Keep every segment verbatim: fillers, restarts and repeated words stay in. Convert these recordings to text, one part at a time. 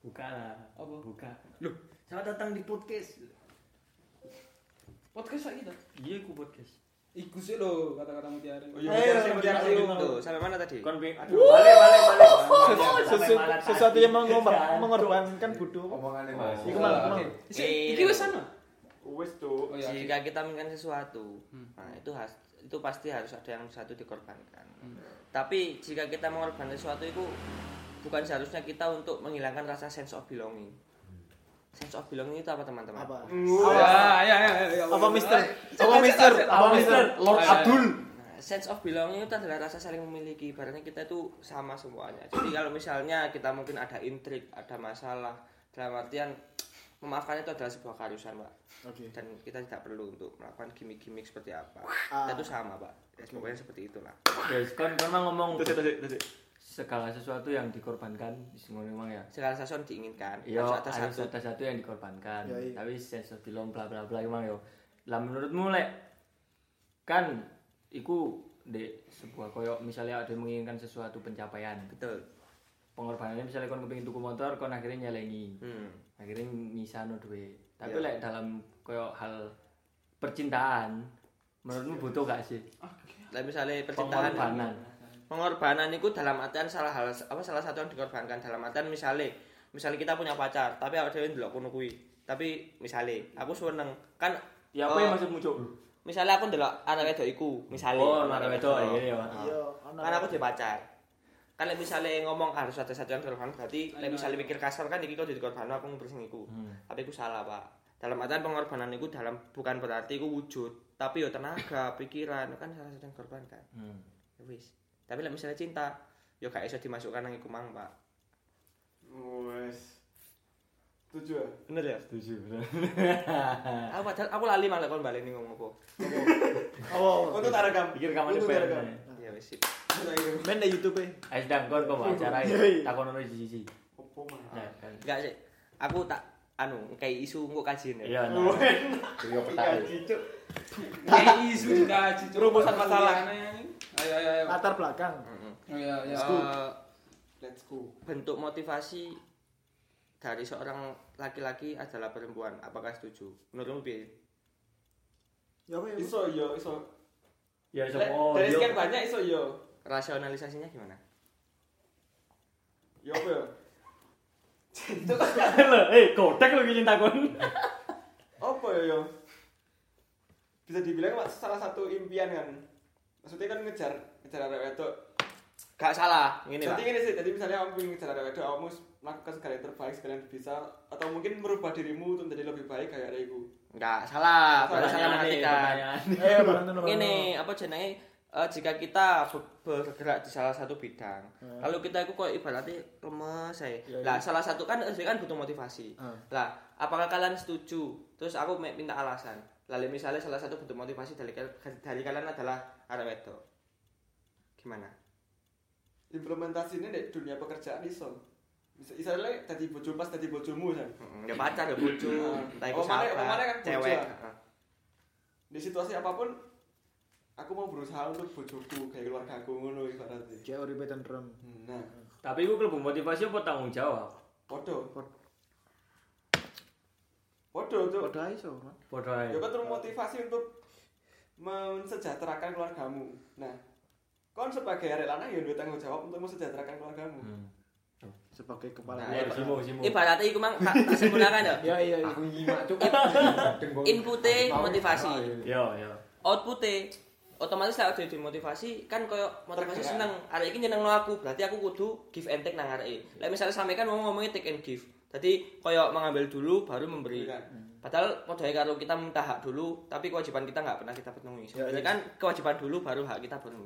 Buka lah. Apa? Buka. Loh, selamat datang di podcast. Podcast lagi dah. Iya, aku podcast. Iku sih lo kata-kata mutiara. Oh iya, mutiara sih. Tuh, sampai mana tadi? Kon be. Aduh, balik balik balik. Sesuatu, sesuatu yang mengorban- mengorbankan bodoh. Omongannya Mas. Iku mang. Oke. Iki wis sana. Wes tuh. Oh iya. Jika kita menginginkan sesuatu, Hmm. nah itu has, itu pasti harus ada yang satu dikorbankan. Hmm. Tapi jika kita mengorbankan sesuatu itu bukan seharusnya kita untuk menghilangkan rasa sense of belonging. Sense of belonging itu apa teman-teman? Apa? Ya, ya, ya, ya. Apa Mister? Apa Mister? Apa Mister? Lord Abdul. Nah, sense of belonging itu adalah rasa saling memiliki. Ibaratnya kita itu sama semuanya. Jadi kalau misalnya kita mungkin ada intrik, ada masalah, dalam artian memaafkan itu adalah sebuah keharusan, Pak. Oke. Dan kita tidak perlu untuk melakukan gimmick-gimmick seperti apa. Ah. Kita itu sama, Pak. Ya, pokoknya seperti itulah. Guys, kon kon mang ngomong Terus terus terus. segala sesuatu yang dikorbankan ngono memang ya. Segala sesuatu diinginkan. Iya, harus ada harus satu. ada satu yang dikorbankan. Yoi. Tapi sense of belong bla bla bla emang yo. Lah menurutmu lek kan iku di sebuah koyo misalnya ada yang menginginkan sesuatu pencapaian. Betul. Pengorbanannya misalnya kon kepengin tuku motor, kon akhirnya nyelengi. Hmm. Akhirnya nyisano duit. Tapi Iya. lek dalam koyo hal percintaan menurutmu butuh gak sih Lah misalnya percintaan pengorbanan? pengorbanan itu dalam artian salah hal apa salah satu yang dikorbankan dalam artian misalnya misalnya kita punya pacar tapi awake dhewe ndelok kono kuwi tapi misalnya aku seneng kan Ya apa oh, yang maksudmu, Cuk? misalnya aku ndelok anak wedok iku misalnya Oh, anak wedok iya ya. Iya, kan aku di pacar kan lek misalnya ngomong harus ada satu yang dikorbankan berarti lek misalnya mikir kasar kan iki kok dikorbankan aku ngumpul sing iku Hmm. tapi iku salah Pak dalam artian pengorbanan itu dalam bukan berarti iku wujud tapi yo tenaga pikiran kan salah satu yang dikorbankan Hmm. ya wis tapi lek misalnya cinta yo gak iso dimasukkan nang iku mang Pak Wes. Setuju ya? bener ya Setuju. aku padahal aku lali malah kon baleni ngomong apa Oh, Untuk tak rekam. Pikir kamu Untuk tak rekam. cepet. ya wis sip main di YouTube e. Ayo sedang kon kok acara Yoi. ya. Takon ono siji-siji. Opo mah? Nah, kan. enggak sih aku tak anu kayak isu engko kajian ya Iya, nah. Yo petak. Cicuk. Kayak isu juga cicuk. Rumusan masalah. Ayo ayo ayo. Latar belakang. Heeh. Oh iya iya. Eh, Let's go. bentuk motivasi dari seorang laki-laki adalah perempuan. Apakah setuju? Menurutmu piye? Ya apa ya? Iso yo iso. Ya Lek, semua. Dari sekian banyak iso yo. Rasionalisasinya gimana? Yo apa yo? Eh, kotek lagi cinta kon. Apa ya yo? Bisa dibilang Mas, salah satu impian kan. Maksudnya kan ngejar ngejar arek wedok. Gak salah, gini Jadi Pak. gini sih, jadi misalnya kamu ingin ngejar arek wedok, kamu melakukan segala yang terbaik, segala yang bisa, atau mungkin merubah dirimu untuk menjadi lebih baik kayak arekku. Enggak salah, baru salah Pertanyaan nih, mengartikan. pertanyaan. Eh, bantu nomor. Ini apa jenenge eh, jika kita ber- bergerak di salah satu bidang, Hmm. lalu kita itu kok ibaratnya lemes saya. Ya, Lah ya. salah satu kan saya kan butuh motivasi. Hmm. Lah, apakah kalian setuju? Terus aku me- minta alasan. Lalu misalnya salah satu bentuk motivasi dari kal- dari kalian adalah arek wedok. Gimana? Implementasinya di dunia pekerjaan iso. Bisa misalnya tadi bojo pas tadi bojomu kan. Heeh, ya pacar ya bojo, Hmm. entah itu Oh, mana- siapa, oh, mana kan bojo, cewek. ah. Heeh. Di situasi apapun aku mau berusaha untuk bojoku kayak keluarga aku ngono ibaratnya. Kayak uripe tentrem. Nah, Tapi iku klebu motivasi apa tanggung jawab? podo. Podo tuh. Padha iso, Mas. Padha ae. Ya kan termotivasi untuk mensejahterakan keluargamu. Nah, kon sebagai arek lanang ya duwe tanggung jawab untuk mensejahterakan keluargamu. Hmm. Sebagai kepala Nah, Ya, keluarga. simu, simu. Ibaratnya iku mang tak tak simpulkan ya. Ya iya iya. Aku nyimak cuk. Inputnya motivasi. Yo, yo. Outputnya otomatis lah udah dimotivasi kan koyo motivasi Tergerak. seneng arek iki nyenengno aku berarti aku kudu give and take nang arek. Lah misalnya sampe kan ngomong ngomongnya take and give. Jadi koyo mengambil dulu baru memberi. Kan. Padahal modalnya kalau kita minta hak dulu tapi kewajiban kita nggak pernah kita penuhi. Ya, Sebenarnya ya. kan kewajiban dulu baru hak kita penuhi.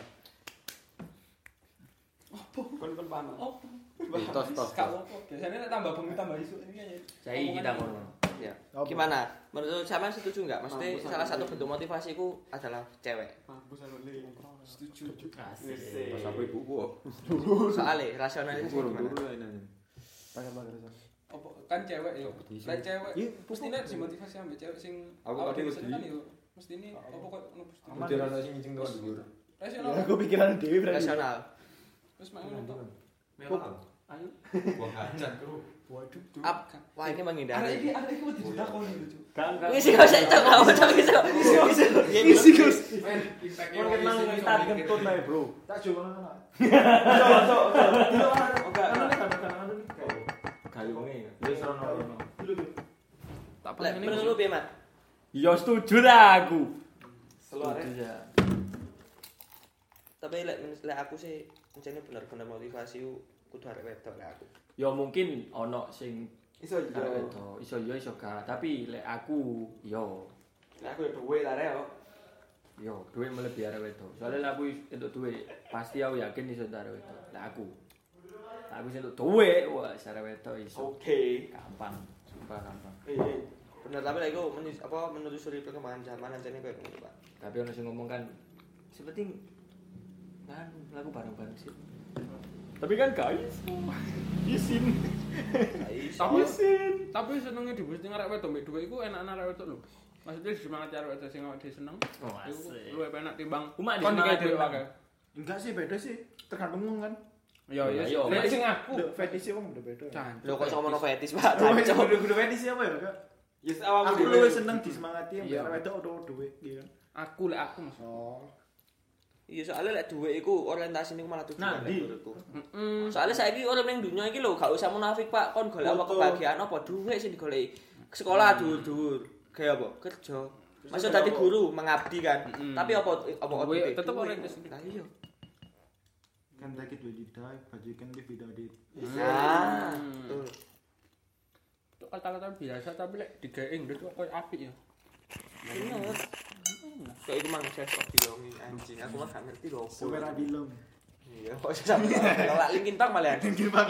Kon kon paham. Oh. Tos, tos, Gak apa-apa. Biasanya nek tambah bengi tambah isu ini aja. Saya kita ngono. Ya. Apa? Gimana? Menurut sampean setuju nggak? Maksudnya Mampus, salah aku satu setuju. bentuk motivasiku adalah cewek. Mampus aku le. Setuju. Asik. Pas Apa ibu gua? Soalnya rasionalisasi gimana? Pakai pakai iso. Apa kan cewek yo. Kompetisi. Lek cewek Iya, mesti nek dimotivasi ambek cewek sing Aku awake ada dhewe wedi. seneng kan yo. Mesti ini apa kok ono mesti. Aman. Udah ana sing ngincing tuh dhuwur. Rasional. Ya aku pikiran dewi berarti. Rasional. Terus mak ngono tok. Mewah. Ayo. Buang hajat, Bro. Waduh. Up. Wah, ini Arek menghindari. iki arek iki wedi ditakoni lho, Cuk. Kan kan. Wis kok saya cok awak cok iso. Isi Gus. Men, impact-e Kon wong kenal isi kita iso kentut mikir. nae, Bro. Tak coba ngono. Cok, cok, cok. Enggak, enggak. Gawe wonge. Wis rono rono. Tak Lek paling menurut lu piye, Mat? Ya setuju lah aku. Seluar Setuju ya. Tapi lek lek aku sih mencene bener-bener motivasi ku kudu arek wedok lek aku. Ya mungkin ono sing iso yo. arek wedok, iso yo iso gak, tapi lek aku yo Nah, aku ya duwe lah rek yo. yo duit melebihi arek wedok. Soalnya lek aku entuk duit, pasti aku yakin iso entuk arek wedok. Lek aku. Lek aku entuk duit, wah arek wedok iso. Oke. Gampang, sumpah gampang. Eh, eh. Bener tapi lek iku menyus- apa menelusuri perkembangan zaman ancene koyo ngono, Pak. Tapi ono sing ngomong kan seperti kan lagu bareng-bareng sih. Tapi kan guys, izin. Tapi tapi senenge diboosting arek wedok mbek dhuwit iku enak arek wedok lho. Maksudnya semangat arek wedok sing awake dhewe seneng. Oh, Iku asik. luwih enak timbang Umak kon disemangat dikei dhewe timbang. wae. Enggak sih, beda sih. Tergantung wong kan. Ya ya. Iya, Lek iya. sing aku. Lho, fetishnya wong beda-beda. Jan. Lho kok sama fetis, Pak? Oh, Cok. kudu fetish apa ya, Kak? Yes, awakmu Aku dhewe. luwih seneng disemangati yang Iya. wedok utawa duwe, iya kan. Aku lek aku Mas. Oh. Iya soalnya lek duwe iku orientasi niku malah tujuan Nah, lek di. menurutku. Heeh. Soalnya saiki urip ning dunya iki lho gak usah munafik, Pak. Kon golek apa Betul. kebahagiaan apa duwe sing digoleki. Sekolah dhuwur-dhuwur, gawe apa? Kerja. Masuk dadi guru, mengabdi kan. Mm-mm. Tapi apa apa Duwe, output-e? tetep Duwe. orientasi. Lah iya. Kan take it when you die, but you can live without it. Nah, Hmm. betul. Itu kata-kata biasa tapi lek digawe Inggris kok koyo apik ya. Bener. Kayak iku mang sense of belonging anjing. Aku mah gak ngerti lho. opo. Somewhere I belong. Iya, kok sampe lak Linkin Park malah. Linkin Park.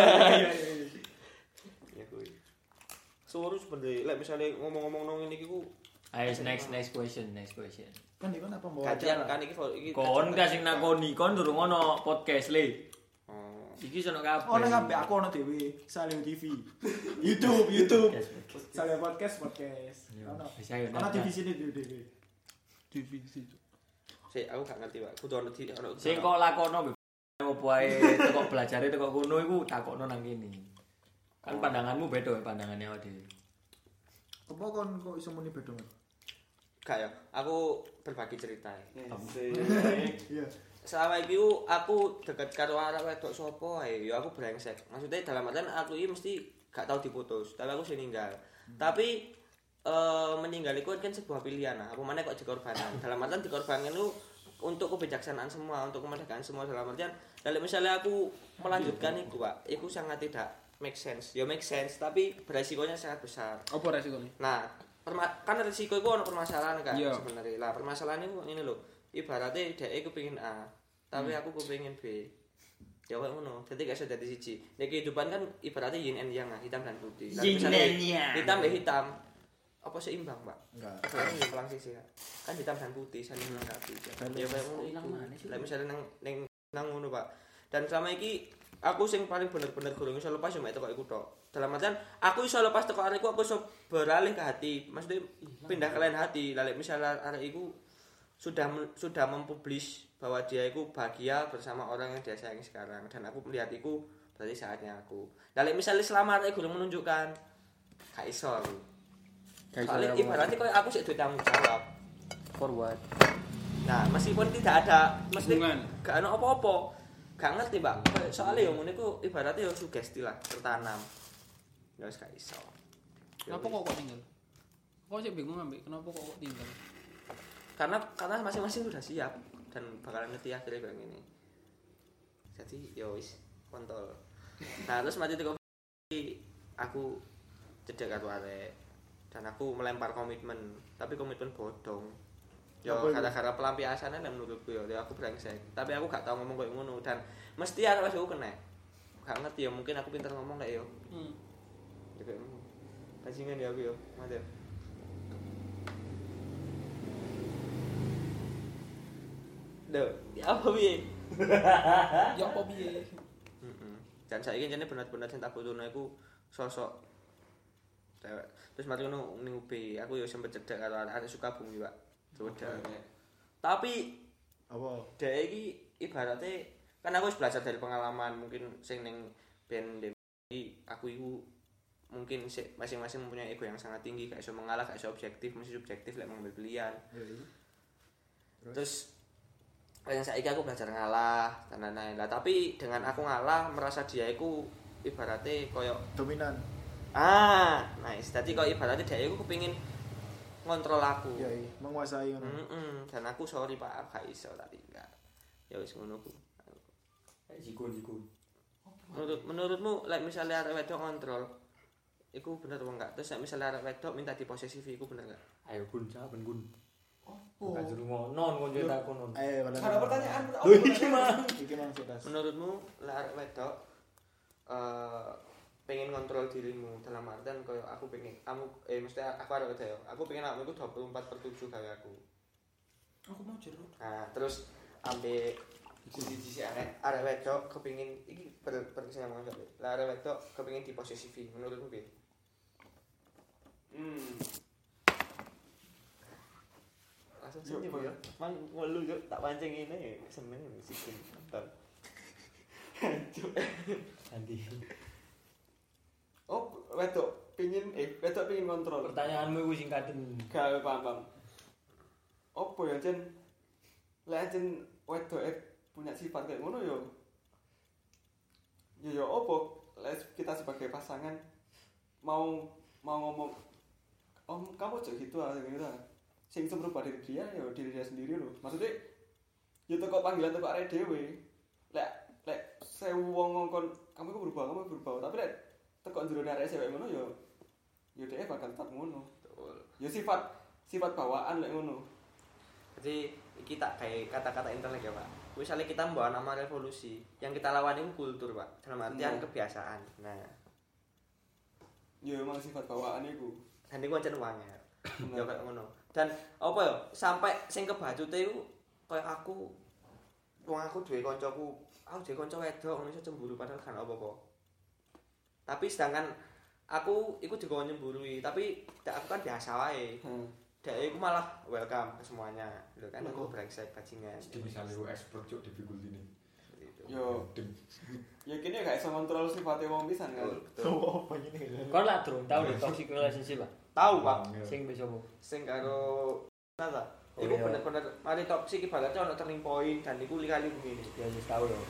Ya kuwi. Suruh sebenarnya, lek misalnya ngomong-ngomong nong ini ku Ayo next next question, next question. Kan iki apa mau kajian acara? kan iki iki. Kon kasih nakoni, kon durung ono podcast le. Oh. Iki sono kabeh. Ono kabeh aku ono dhewe, Salim T V. YouTube, YouTube. Podcast, podcast. Salim podcast, podcast. Iya, Ono. bisa ya, Ono nah, divisi ini dhewe. Divisi. Sik aku gak ngerti, Pak. Kudu ono di ono. Sing kok lakono opo ae teko belajare teko kono iku takokno nang kene. Kan pandanganmu beda ya pandangannya awake dhewe. Apa kon kok iso muni beda, Mas? Gak ya, aku berbagi cerita ya. Iya. Selama iki ku, aku deket karo arek wedok sapa ae, ya aku brengsek. Maksudnya dalam artian aku iki mesti gak tau diputus, tapi aku sing ninggal. Tapi eh meninggal itu kan sebuah pilihan. Nah, apa mana kok dikorbankan? Dalam artian dikorbankan itu untuk kebijaksanaan semua, untuk kemerdekaan semua dalam artian. Kalau misalnya aku melanjutkan itu, Pak, itu sangat tidak make sense. Ya make sense, tapi beresikonya sangat besar. Apa resikonya? Nah, perma- kan resiko itu ada permasalahan kan Iya. sebenarnya. Lah permasalahan itu ini loh. Ibaratnya dhek kepengin A, tapi aku kepengin B. Ya kayak ngono. Dadi gak iso dadi siji. Nek kehidupan kan ibaratnya yin and yang, hitam dan putih. Lah, Yin misalnya and yang. hitam ya hitam. Apa seimbang, Pak? Enggak. Soalnya ya pelang sisi ya. Kan hitam dan putih saling melengkapi. Ya kayak ngono Ilang iku. mana sih? Lah misalnya nang nang nang ngono, Pak. Dan selama iki aku sing paling bener-bener gurung iso lepas yo mek teko iku tok. Dalam artian aku iso lepas teko arekku, aku iso beralih ke hati. Maksudnya pindah ke lain hati. Lalu misalnya arek iku sudah sudah mempublish bahwa dia itu bahagia bersama orang yang dia sayangi sekarang dan aku melihat itu berarti saatnya aku. Lalu misalnya selama arek gurung menunjukkan gak iso aku. Soalnya ibaratnya kayak aku sih duwe tanggung jawab. Forward. Nah, meskipun tidak ada mesti Hubungan. gak ada apa-apa. Gak ngerti, Mbak. Kayak soalnya yang ngono iku ibaratnya ya sugesti lah, tertanam. Ya wis gak iso. Ya Kenapa wis. kok kok tinggal? Kok sih bingung ambek kenapa kok kok tinggal? Karena karena masing-masing sudah siap dan bakalan ngerti akhirnya kayak gini. Jadi ya wis kontol. Nah, terus mati teko aku cedek karo arek dan aku melempar komitmen, tapi komitmen bodong. Ya Apa itu? gara-gara pelampiasannya nek menurutku ya, ya aku brengsek. Tapi aku gak tau ngomong kayak ngono dan mesti arek wis aku kena. Gak ngerti ya, mungkin aku pintar ngomong kayak yo. Hmm. Ya kayak ngono. Bajingan ya aku yo, mati. Ya. Duh, ya apa piye? Ya apa piye? Heeh. Dan saiki jane bener-bener sing tak butuhno iku sosok cewek. Terus mari ngono ning U B, aku yo sempet cedek karo arek Sukabumi, Pak. Sudah. Tapi Apa? dhek iki ibaratnya kan aku wis belajar dari pengalaman mungkin sing ning B ben aku iku mungkin masing-masing mempunyai ego yang sangat tinggi, gak iso mengalah, gak iso objektif, mesti subjektif lek mengambil pilihan. Terus, Terus yang saiki aku belajar ngalah dan lain-lain. Lah tapi dengan aku ngalah merasa dia iku ibaratnya koyo dominan. Ah, nice. Dadi koyo ibaratnya dia iku kepengin ngontrol aku. Iya, iya. Menguasai ngono. Heeh, dan aku sorry Pak, gak iso tak tinggal. Ya wis ngono ku. Jikun-jikun. Menurut menurutmu like misalnya arek wedok kontrol iku bener apa enggak? Terus misalnya arek wedok minta diposesifi iku bener enggak? Ayo Gun, jawaban Gun. Opo? Gak juru ngonon kon cerita konon. Eh, Ada pertanyaan. Lho iki mang. Iki mang setas. Menurutmu lek arek wedok eh pengen kontrol dirimu dalam artian koyo aku pengen kamu eh mesti aku arek wedok ya. Aku pengen kamu iku dua puluh empat per tujuh kaya aku. Aku mau jeruk. Nah, terus ambek sisi-sisi arek arek wedok kepengin iki per perkesamaan sampe. Lah arek wedok kepengin diposesifi menurutmu piye? Hmm. Langsung senyum ya. Mang ngelu yo tak pancing ngene seneng sikin nonton. Nanti. Oh, wedok pengin eh wedok pengin kontrol. Pertanyaanmu iku singkaten. Gak paham. Opo ya Jen? Lek Jen wedok eh punya sifat kayak ngono yo. Ya yo opo? Lek kita sebagai pasangan mau mau ngomong om kamu aja gitu ah gitu ah. Sing iso merubah diri dia ya diri dia sendiri loh. Maksudnya ya teko panggilan teko arek dhewe. Lek lek sewu wong ngongkon kamu iku berubah, kamu berubah. Tapi lek teko jero arek cewek ngono ya ya dhek bakal tetap ngono. Betul. Ya sifat sifat bawaan lek ngono. Jadi iki tak kayak kata-kata internet ya, Pak. Misalnya kita membawa nama revolusi, yang kita lawan itu kultur, Pak. Dalam artian Hmm. kebiasaan. Nah, Ya emang sifat bawaan iku. dan iku ancen wanger. Ya kayak ngono. Dan apa ya? Sampai sing kebacute iku koyo aku wong aku duwe kancaku, aku duwe kanca wedok ngono iso cemburu padahal kan apa-apa. Tapi sedangkan aku iku juga nyemburui, tapi aku kan biasa wae. Hmm. Dek iku malah welcome ke semuanya. Lho kan aku brengsek bajingan. Misalnya lu expert cuk difficulty ini. Yo, ya kini gak iso kontrol sifatnya wong pisan kan. Oh, apa ini? Kon lah durung tau di toxic relationship ah. Tahu, Pak. Sing wis opo? Sing karo nata. Oh, Iku iya. bener-bener mari toksik ibaratnya ono turning point dan iku kali begini. Ya wis tau yo.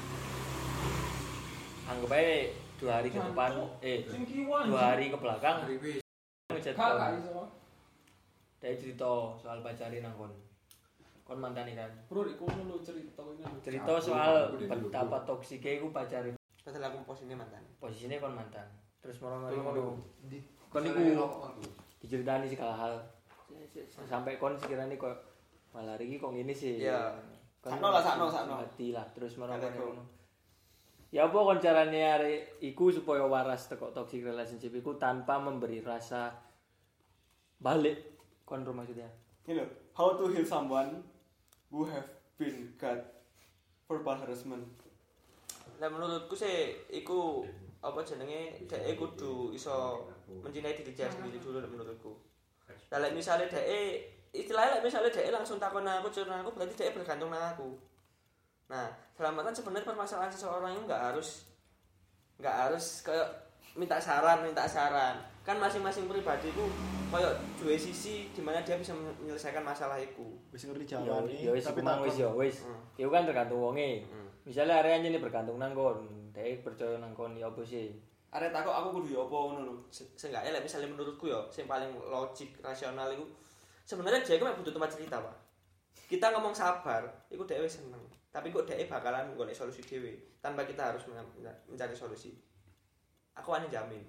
Anggap aja dua hari ke depan, eh Sing kiwan. dua hari ke belakang Ribis. ngechat Kak, kon. gak iso. Dia cerita soal pacarin nang kon. Kon mantan kan. Bro, iku lu cerita ini. Cerita soal betapa toksiknya iku pacarin. Padahal aku posisinya mantan. Posisinya kon mantan. Terus moro-moro Belum ngono. Di Kon iku diceritani segala hal. Sampai kon sekiranya kok malah iki kok ngene sih. Iya. Kon Sakno lah, sakno, sakno. Mati lah terus moro-moro Kata ngono. Ya apa kon carane arek iku supaya waras teko toxic relationship iku tanpa memberi rasa balik kon ro maksudnya. Ini loh, how to heal someone who have been got verbal harassment. Nah menurutku sih iku apa jenenge dhek kudu iso mencintai diri dia sendiri dulu menurutku. Lah lek misale dhek istilahnya lek misale dhek langsung takon aku curang aku berarti dhek bergantung nang aku. Nah, dalam artian sebenarnya permasalahan seseorang itu enggak harus enggak harus kayak minta saran, minta saran. Kan masing-masing pribadi itu kayak dua sisi di mana dia bisa menyelesaikan masalah itu. Wis ngerti Ya jawane. ya wis kumang wis ya wis. Hmm. Iku kan tergantung wonge. Hmm. Misalnya area ini bergantung nang kon, dhek percaya nang kon ya apa sih? Arek takok aku kudu yo apa ngono lho. Se- Seenggaknya lek misalnya menurutku ya, yang paling logik, rasional itu sebenarnya dia itu butuh tempat cerita, Pak. Kita ngomong sabar, itu dia wis seneng. Tapi kok dia bakalan golek solusi dhewe tanpa kita harus men- mencari solusi. Aku ane jamin.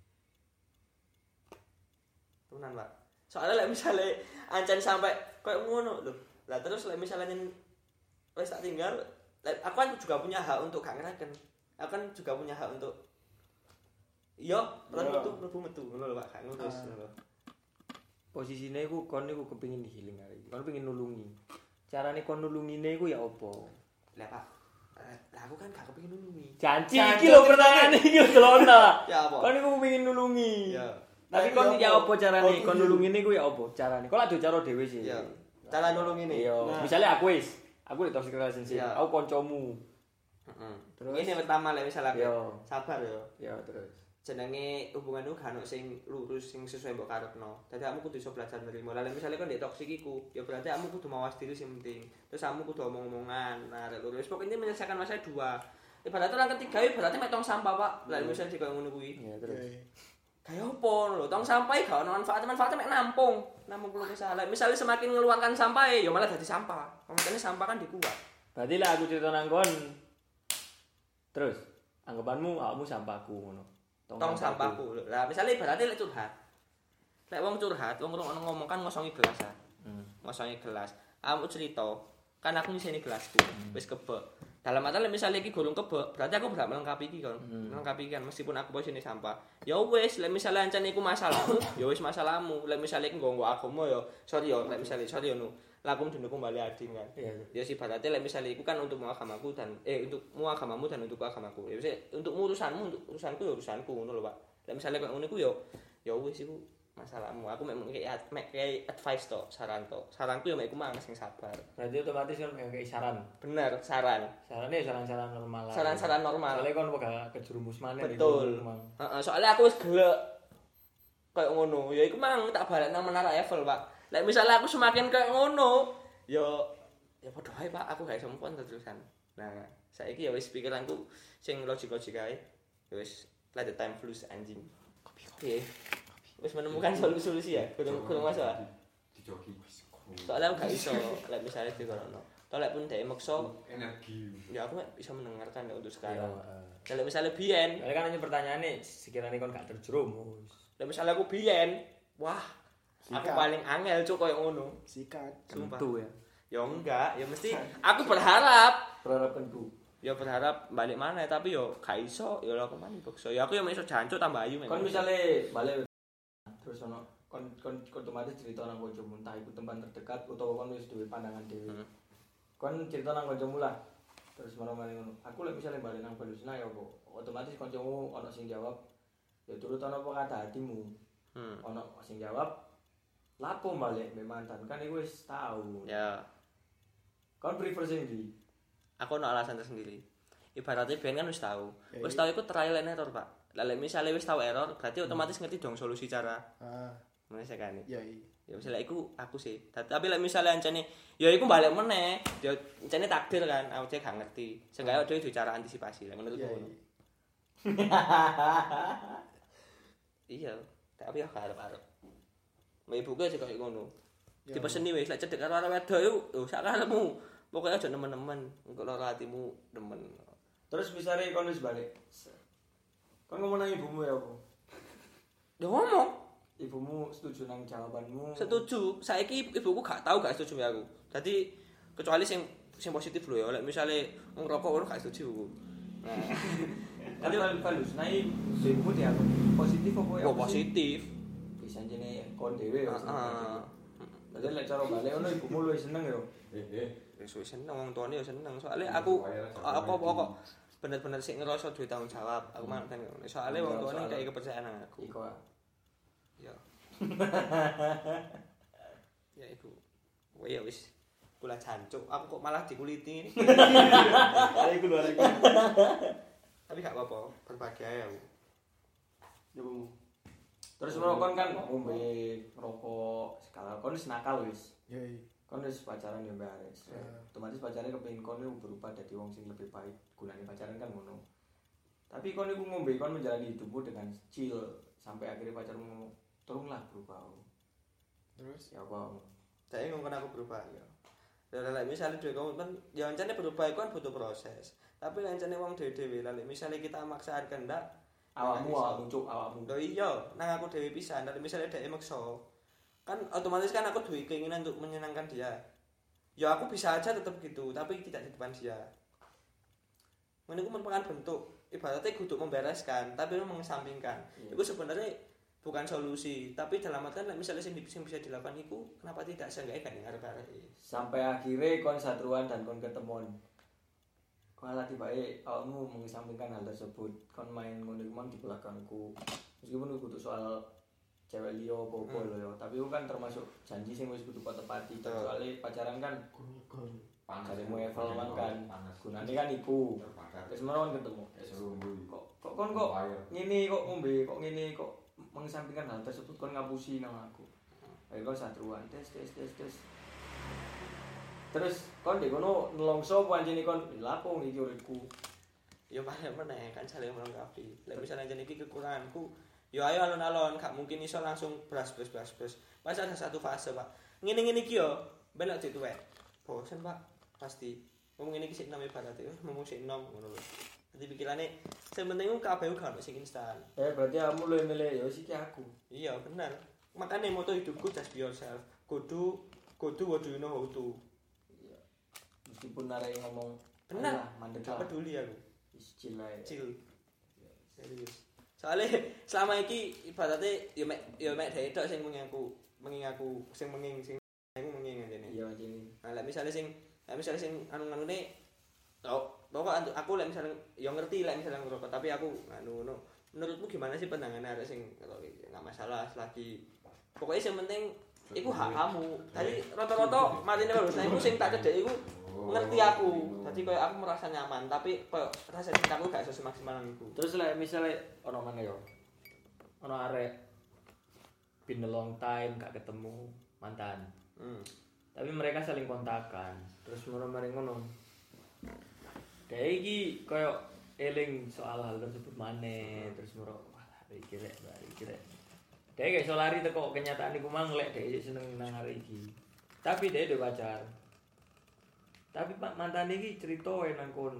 Tenan, Pak. Soalnya lek misalnya ancen sampai koyo ngono lho. Lah terus lek misalnya wis tak tinggal, lek aku kan juga punya hak untuk gak ngereken. Aku kan juga punya hak untuk iya, pelan Iya. metu, mlebu metu ngono lho, Pak. Gak ngurus ngono lho. Posisine iku kon iku kepengin healing arek iki. Kon pengin nulungi. Carane kon nulungine iku ya apa? Lah, Pak. eh, Lah aku kan gak kepengin nulungi. Janji Janji, iki lho pertanyaan iki lho delona. Ya apa? Kon iku pengin nulungi. Ya. Tapi Nah, kon iya ya apa? apa carane? Oh, Kon iya. nulungine iku ya apa carane? Kok lak cara dhewe sih. Ya. Cara nulungi nih. Iya, Nah. misalnya aku wis, aku di toxic relationship, Iya. aku koncomu. Heeh. Terus? Ini pertama lek misal aku Yo. sabar yo. Ya terus. Jenenge hubunganmu gak ono sing lurus sing sesuai mbok karepno. Dadi kamu kudu iso belajar nerimo. Lah misale kon ndek toksik iku, ya berarti kamu kudu mawas diri sing penting. Terus kamu kudu omong-omongan. Nah, rek lurus pokoknya menyelesaikan masalah dua. Ibarat orang ketiga berarti mek tong sampah, Pak. Lah misale dikoyo ngono kuwi. Ya terus. Kayak opo lho, tong sampah gak ono manfaat, manfaatnya mek nampung. Nampung keluh kesah. Lah misale semakin ngeluarkan sampah ya malah dadi sampah. Makanya sampah kan dikuat. Berarti lah aku cerita nang kon. Terus, anggapanmu awakmu sampahku ngono. Tong sampahku. Lah misale berarti lek curhat. Lek wong curhat, wong ngono ngomong kan ngosongi gelas ah. Hmm. Ngosongi gelas. Aku cerita, kan aku nyiseni gelasku, wis kebek. Dalam arti misalnya iki gurung kebek, berarti aku berhak melengkapi iki kan. Hmm. Melengkapi kan meskipun aku posisi sampah. Ya wis, lek misale ancane iku masalahmu, ya wis masalahmu. Lek misale iki nggo agama ya, sorry ya, lek misale sorry ya no. Lakum dinukum bali ading kan. Iya. Ya sih berarti lek misale iku kan untuk agamaku dan eh untukmu agamamu dan untuk agamaku. Ya wis untuk urusanmu, untuk urusanku ya urusanku ngono lho, Pak. Lek misale kok ngono iku ya ya wis iku masalahmu. Aku mek kayak mek kayak advice to, saran to. Saranku ya mek iku mang sing sabar. Berarti otomatis kan kayak saran. Bener, saran. Sarannya saran-saran normal lah. Saran-saran normal. Soalnya kon bakal kejerumus maneh Betul. Heeh, soalnya aku wis gelek kayak ngono. Ya iku mang tak balik nang Menara Eiffel, Pak. Lek misalnya aku semakin kayak ngono, ya ya padha ae, Pak, aku gak iso move on terusan. Nah, saiki ya wis pikiranku sing logik-logik ae. Ya wis let the time flues anjing. Kopi kopi. Wis menemukan solusi ya, kurang kurang masalah. Dijoki. Soalnya aku gak iso lek misalnya dikorono. Toh lek pun dhek maksa Energi. ya aku bisa mendengarkan ya untuk Iya. sekarang. Kalau misalnya biyen, Soalnya kan hanya pertanyaannya sekiranya kon gak terjerumus. lek misalnya aku biyen, wah, aku Sikat. paling angel cuk koyo ngono. Sikat. Sumpah. Tentu ya. Ya enggak, ya mesti aku berharap. Berharap tentu. Ya berharap balik mana tapi yo gak iso, ya lho kemana bokso. Ya aku yo iso jancuk tambah ayu Kon misale balik terus ono kon kon kon otomatis cerita nang kancamu entah iku teman terdekat utawa kon wis duwe pandangan dhewe. Hmm. Kon cerita nang kancamu lah. Terus marang-marang ngono. Aku lek misale balik nang Balusna ya apa? Otomatis kancamu ono sing jawab ya turut ono apa kata hatimu. Hmm. Ono sing jawab lapo balik mbek mantan kan iku wis tau. Ya, Kon prefer sing ndi? aku ono alasan tersendiri. Ibaratnya biyen kan wis tahu. Ya, Wis iya. tahu iku trial and error, Pak. Lah lek misale wis tahu error, berarti otomatis ngerti dong solusi cara Ah, menyelesaikan. ya iya. Ya misalnya iku aku sih. Tapi lek misalnya ancane ya iku balik meneh. Ya ancane takdir kan, aku cek gak ngerti. Seenggaknya dhewe duwe cara antisipasi lah menurutku Iya. ngono. Iya, tapi ya gak arep-arep. Mbak ibuku aja kayak ngono. Ya. Dipeseni wis lek cedek karo arek wedok yo yo sak karepmu. Pokoke aja nemen-nemen, engko lara hatimu demen. Terus misale kon wis balik. Kon ngomong nang ibumu ya apa? Ya ngomong, Ibumu setuju nang jawabanmu? setuju. Saiki ibuku gak tahu gak setuju ya aku. Dadi kecuali sing sing positif lho ya. Lek misale ngerokok ngono gak setuju ibuku. Nah, Kan kalau balus naik ibumu dia positif apa ya? oh positif. Bisa jene kon dhewe ya. Heeh. Jadi lek cara balik ngono ibumu luwih seneng ya. Eh eh. Wis wis seneng wong tuane ya seneng. Soale aku aku apa kok bener-bener sik ngerasa duwe tanggung jawab. Aku mang kan ngono. Soale wong tuane kayak kepercayaan nang aku. Iko. Ya. Ya iku. Kowe ya wis kula jancuk. Aku kok malah dikuliti. Ayo iku lho iku. Tapi gak apa-apa, berbagi ae aku. Ya Bu. Terus merokok kan ngombe ngerokok skala kon wis nakal wis. Ya iya. Kon wis pacaran ya Mbak Aris. Ya. Otomatis pacarnya kepengin kon iku berubah dadi wong sing lebih baik. Gunane pacaran kan ngono. Tapi kon iku ngombe kon menjalani hidupmu dengan chill sampai akhirnya pacarmu ngomong, "Tolonglah berubah." Terus Ya apa? Saya ngomong aku berubah ya. Lah lek misale dhewe komitmen, ya ancane berubah iku kan butuh proses. Tapi lek ancane wong dhewe-dhewe, lek misale kita maksakan kehendak, Awakmu awakmu cuk awakmu. lho iya, nang aku dhewe pisan, lek misale dhek maksa, kan otomatis kan aku duwe keinginan untuk menyenangkan dia. Ya aku bisa aja tetap gitu, tapi tidak di depan dia. Menurutku merupakan bentuk ibaratnya kudu membereskan, tapi mengesampingkan. Iya. Itu sebenarnya bukan solusi, tapi dalam artian like, misalnya sing sing bisa dilakukan itu kenapa tidak seenggaknya kan arep-arep. Sampai akhirnya kon satruan dan kon ketemuan. Kon lagi baik awakmu mengesampingkan hal tersebut. Kon main ngono iku mang di belakangku. Meskipun itu kudu soal cewek liya apa-apa Hmm. lho ya, tapi itu kan termasuk janji sing wis kudu kok tepati. Betul. Soalnya pacaran kan panas. Cari mau evaluasi kan. Panas. Gunane kan iku. Terbakar. Terus menawa ketemu. Kayak serumbu. Kok kok kon kok ngene kok ngombe kok ngene kok mengesampingkan hal tersebut kon ngapusi nang aku. Ayo kon satruan tes tes tes tes. Terus kon di kono nelongso pancene kon lapo iki uripku. Ya paling meneh kan saling melengkapi. Lek misalnya jan iki kekuranganku, yo ayo alon-alon, gak mungkin iso langsung blas blas blas blas. Pas ada satu fase, Pak. Ngene-ngene iki yo, ben lek dituwek. Bosen, Pak. Pasti. Wong ngene iki sik enom ibarate, ngomong sik enom ngono lho. Dadi pikirane sing penting ku kabeh gak ono sing instan. Eh berarti kamu lu milih yo siki aku. Iya, bener. Makanya moto hidupku just be yourself. Kudu kudu what do you know how to. Iya. Meskipun arek ngomong bener, mandek gak peduli aku. Chill ae. Chill. Serius. Soalnya selama iki ibaratnya ya mek ya mek dhek tok sing menging aku, menging aku, sing menging sing aku menging ngene. Iya anjene. Nah, lek misale sing lek misale sing anu-anune tok, pokok aku lek misale ya ngerti lek misale ngerokok, tapi aku anu ngono. Menurutmu gimana sih pandangan arek sing enggak masalah selagi pokoknya yang penting iku hak kamu. Tadi rata-rata matine lulus, nah iku sing tak cedek iku ngerti aku. Dadi koyo aku merasa nyaman, tapi koyo rasa cintaku gak iso semaksimal iku. Terus lek misale ono mana yo? Ono arek been a long time gak ketemu mantan. Hmm. Tapi mereka saling kontakan. Terus mereka ngono. Kayak iki koyo eling soal hal tersebut maneh, terus moro wah iki rek, iki rek. Dia kayak iso lari teko kenyataan iku mang lek dia seneng nang hari iki. Tapi dia udah pacar. Tapi Pak mantan iki cerita nang kon.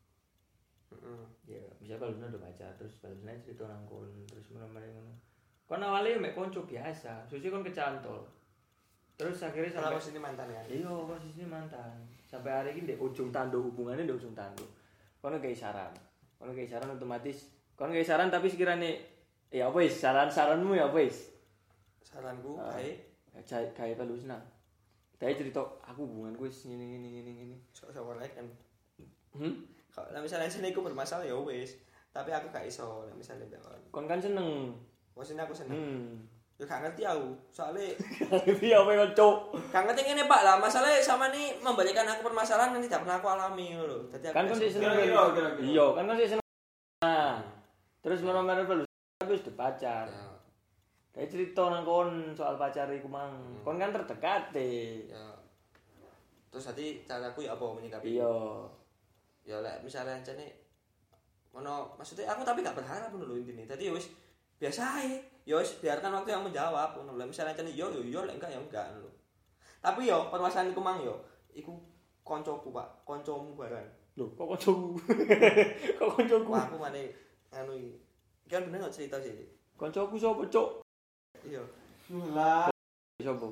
Heeh. Ya, bisa balune udah pacar terus balune cerita nang kon terus meneh ngono. Kon awalnya mek konco biasa, susi kon kecantol. Terus akhirnya sampai posisi mantan kan. Iya, posisi mantan. Sampai hari ini di ujung tanduk hubungannya di ujung tanduk. Kono kayak saran. Kono kayak saran otomatis. Kono kayak saran tapi sekiranya ya apa wis saran-saranmu ya apa wis? Saranku Uh, kae kayak kayak balusna. Dia cerita aku hubunganku wis ngene ngene ngene ngene. sok-sok lek kan. Hmm? Kalau misalnya sini aku bermasalah ya wis, tapi aku gak iso lek misalnya mbak. Kon kan seneng. Wes aku seneng. Hmm. Ya gak ngerti aku. Soalnya Ngerti apa yang cok? gak ngerti ngene Pak lah, masalahnya sama nih memberikan aku permasalahan yang tidak pernah aku alami ngono lho. Dadi aku Kan kon sih seneng. Iya, kan kon sih seneng. Nah. Terus menomor balus tapi wis pacar. ya, Kayak cerita nang kon soal pacar iku mang. Hmm. Kon kan terdekat deh. ya. Terus tadi caraku ya apa menyikapi? Iya. Ya lek misalnya jane ono maksudnya aku tapi gak berharap ngono lho intine. Tadi ya wis biasa ae. Ya wis biarkan waktu yang menjawab ngono lho. Misalnya jane yo yo yo lek enggak ya enggak ngono lho. Tapi yo permasalahan iku mang yo iku koncoku Pak, koncomu barang. Loh, kok koncoku? Kok koncoku? Wah, aku mane anu iki. Kan bener gak cerita sih. Koncoku sapa, Cuk? Iya. Lah, Sapa?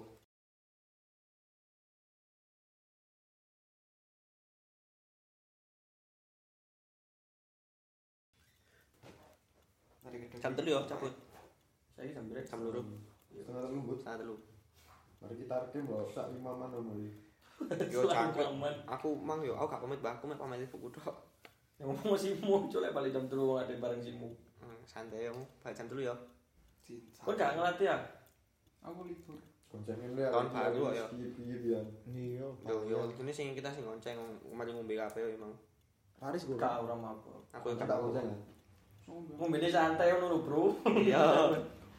Jam telu yo cabut. Saiki jam berapa? Jam loro. Setengah telu but. Setengah telu. Mari kita rekem lho, sak lima man ngono iki. Yo cangkep. Aku mang yo, aku gak pamit Mbak, aku mek pamit ibuku tok. Yang ngomong simu, Cuk, lek balik jam telu ada bareng simu. Hmm, santai yo, balik jam telu yo. Kon gak ngelatih ya? Aku libur. Koncengin le Tahun baru kok ya. Piye piye. iya. Yo yo ini sing kita sing ngonceng mari ngombe kabeh yo emang. Paris gue. Gak ora mabuk. Aku Tak tak konceng. Ngombene santai ngono lho, Bro. Iya.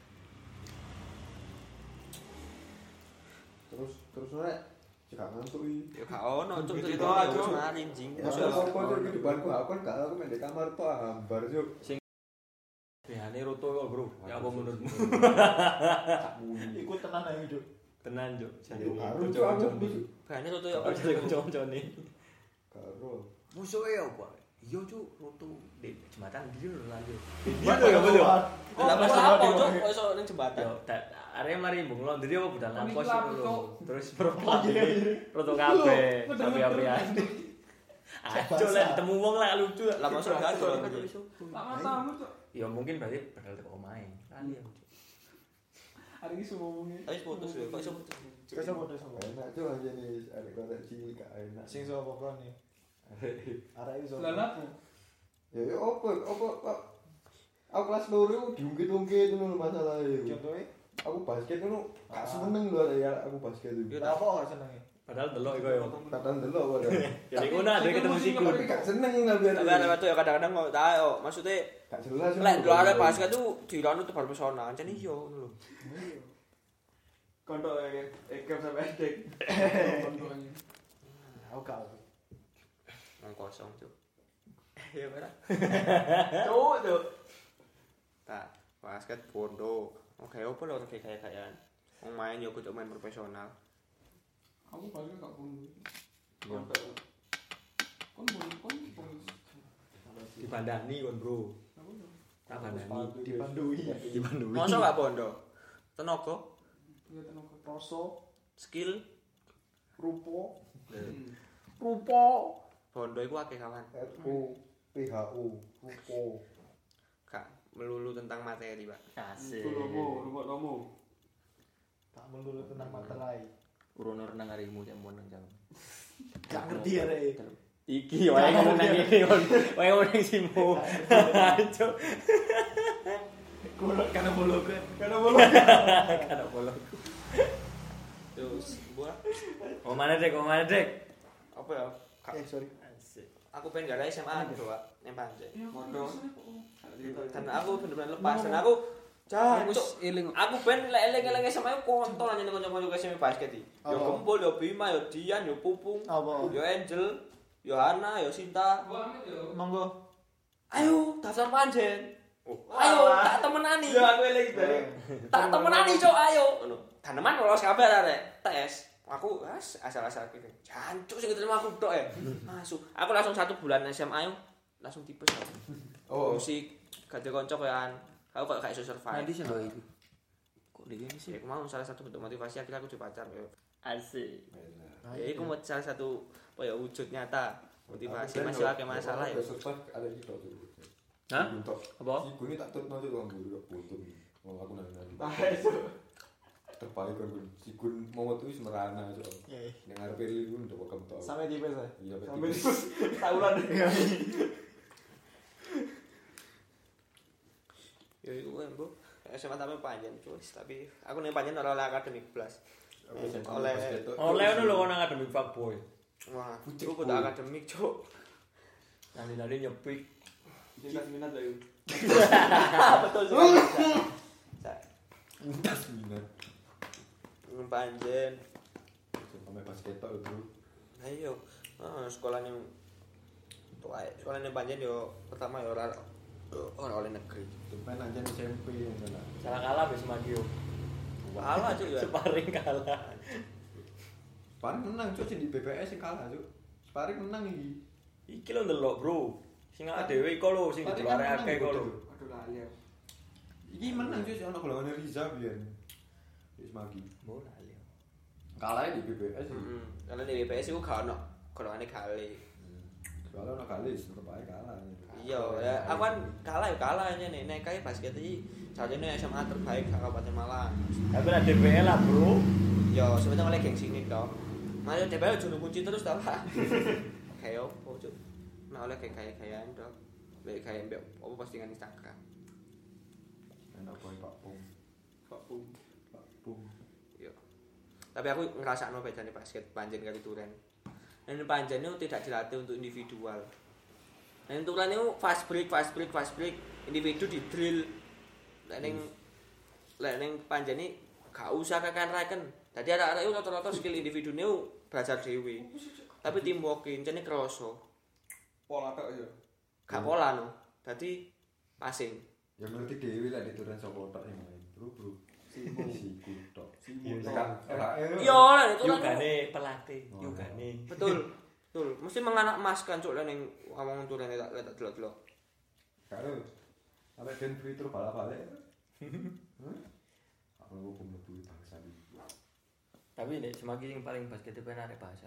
Terus terus nek jek ngantuk iki. Ya gak ono cuk Gitu cerita aja. aku mari jing. Ya apa iki di depanku aku kan gak aku main di kamar tok hambar yo. Behane roto kok, Bro. Ya apa menurutmu? Iku tenan ae, Cuk. Tenan, Cuk. Yo karo cuk aku musuh. Bahane roto yo Apa jadi kanca-kancane? Karo. Musuhe apa? Iya, Cuk, roto di jembatan ndi lho lanjut. Iya to ya, betul. Oh, apa cuk kok iso ning jembatan. Yo, area mari mbung londri apa budal lampos Iki iku lho. Cuk. Terus perempuan roto kabeh, api-apian. Ajo lek ketemu wong lah lucu. Lah masuk gak ada orang. Tak matamu cuk. Ya mungkin berarti bakal teko omahe. Kali ya. Hari ini semuanya. Tapi putus lho, kok iso putus. Kasa podo sama. Enak cuk anjene arek kotek cilik gak enak. Sing sapa kon nih? Arek iso. Lah lapo? Ya ya opo opo kok aku kelas loro diungkit-ungkit ngono masalahnya. Contohnya, Aku basket ngono gak seneng lho ya aku basket itu. Yo apa gak senenge? Padahal delok iku yo. Kadang delok kok. Ya iku nah ada ketemu siku. Tapi gak seneng tapi Tapi ada waktu ya kadang-kadang kok tahu maksudnya gak jelas. lek dulu ada basket tuh diranu tuh baru pesona ancen iya ngono lho. Kontok ya, ekam sampai edek. Aku gak. Nang kosong cuk. Ya ora. Cuk, cuk. Tak basket bondo. Oke opo lho kayak kayak-kayan. Wong main yo kudu main profesional. Aku paling gak bondo. Kontok. Kon bondo kon kon. Dibandani kon, Bro. Tak bandani. Dipandui. Dibandui. Masa gak bondo? Tenaga, Ya tenaga. Rasa, skill, rupa, Rupa. bondo iku akeh kawan. R U P H U, rupa. Gak melulu tentang materi, Pak. Asik. Itu nomo, rumah nomo. Tak melulu tentang materai. Urono renang harimu cek mon nang jam. Gak ngerti ya rek. Iki wae ngomong nang iki kon. Wae ngomong nang simu. Cuk. Golok karena bolok. Karena bolong. Kada bolong. Terus gua Oh mana dek, oh mana dek. apa ya? Ka- Eh sorry. Asik. Aku pengen gak ada S M A gitu, Pak. Yang panjang. Mondo. Dan aku bener-bener lepas dan aku Aku jancuk. eling. Aku ben lek eling-eling S M A ku kontol aja ning kanca-kanca S M A basket iki. Yo Apa? Gembul, yo Bima, yo Dian, yo Pupung, Apa? yo Angel, yo Hana, yo Sinta. Monggo. Ayo daftar panjen. Ayo tak temenani. Ya aku eling dari. Tak temenani cok ayo. Ngono. Taneman lolos kabeh arek tes. Aku as asal-asal gitu. Jancuk sing diterima aku tok ya. Masuk. Aku langsung satu bulan S M A yo langsung tipes aku. Oh. Musik gak ada konco koyoan. Aku kok gak iso survive. Nanti sih lho iki. Kok dia ini sih? Ya, aku mau salah satu bentuk motivasi akhirnya aku jadi pacar ya. Asik. Ya itu mau salah satu apa ya wujud nyata motivasi masih akeh masalah ya. Ada gitu tuh. Hah? Untuk Apa? si gue tak tutno tuh bang guru buntun. Mau aku nang nang. Ah, itu. Terbaik kan gue. Si gun mau tuh semerana aja. Iya. Yang ngarepe ri gue udah bakal tau. Sampai tipes ya. Iya Sampai betul. tahunan. Ya itu kan bu S M A tapi panjang cuy tapi aku nih panjang oleh akademik plus oleh Oleh ngono lho kon akademik fuckboy. wah aku kudu akademik cuk Nali-nali nyepik. Kita minat lah yuk. betul sekali Entas minat. panjen Sampai basket tok itu. ayo ah, sekolah yang tuh ae sekolah yang panjang yo pertama yo ora ora oleh negeri Depan aja S M P yang mana. Salah kalah wis Magio. kalah cuy ya Sparring kalah. Sparring menang cuy di B P S yang kalah cuy. Sparring menang iki. Iki lho ndelok, Bro. Sing awake dhewe iku lho sing Sparring diluare kan akeh menang, iku lho. betul. Aduh lali aku. Iki menang cuy ono golongan Riza biyen. Wis magi. Bola ya. Kalah di B P S. heeh kalau di B P S iku gak ono golongane kali Kalau ono kali tetep ae kalah. iya ya aku kan kalah ya kalah aja nih nek kayak basket iki sajane S M A terbaik Kabupaten Malang Tapi ada D B L lah, Bro. yo sebenarnya oleh geng sini toh malah D P L juru kunci terus tau Pak kayak opo cuk nah oleh kayak kayak kayak dok kayak kayak mbak opo postingan Instagram Enak boy Pak Pung. Pak Pung. Pak Pung. yo tapi aku ngerasakno bedane basket panjen kali turen dan panjen itu tidak dilatih untuk individual dan turen itu fast break fast break fast break individu di drill lek ning lek ning panjen iki gak usah kakan raken dadi arek-arek itu rata-rata skill individune belajar dhewe tapi teamwork incene kroso Pola tok ya. gak pola no dadi passing Ya ngerti dhewe lah dituran sapa tok sing main. Bro, bro. Simo. Si kutok. Simo. Ora yo lah itu kan Yugane pelatih, yugane. betul betul mesti menganak emas kan cuk lek ning ngomong turen tak tak delok-delok Karo. Sampai ben free throw bala-balik. Hah? Aku mau mlebu bangsa iki. Tapi nek semagi sing paling basket itu kan arek bahasa.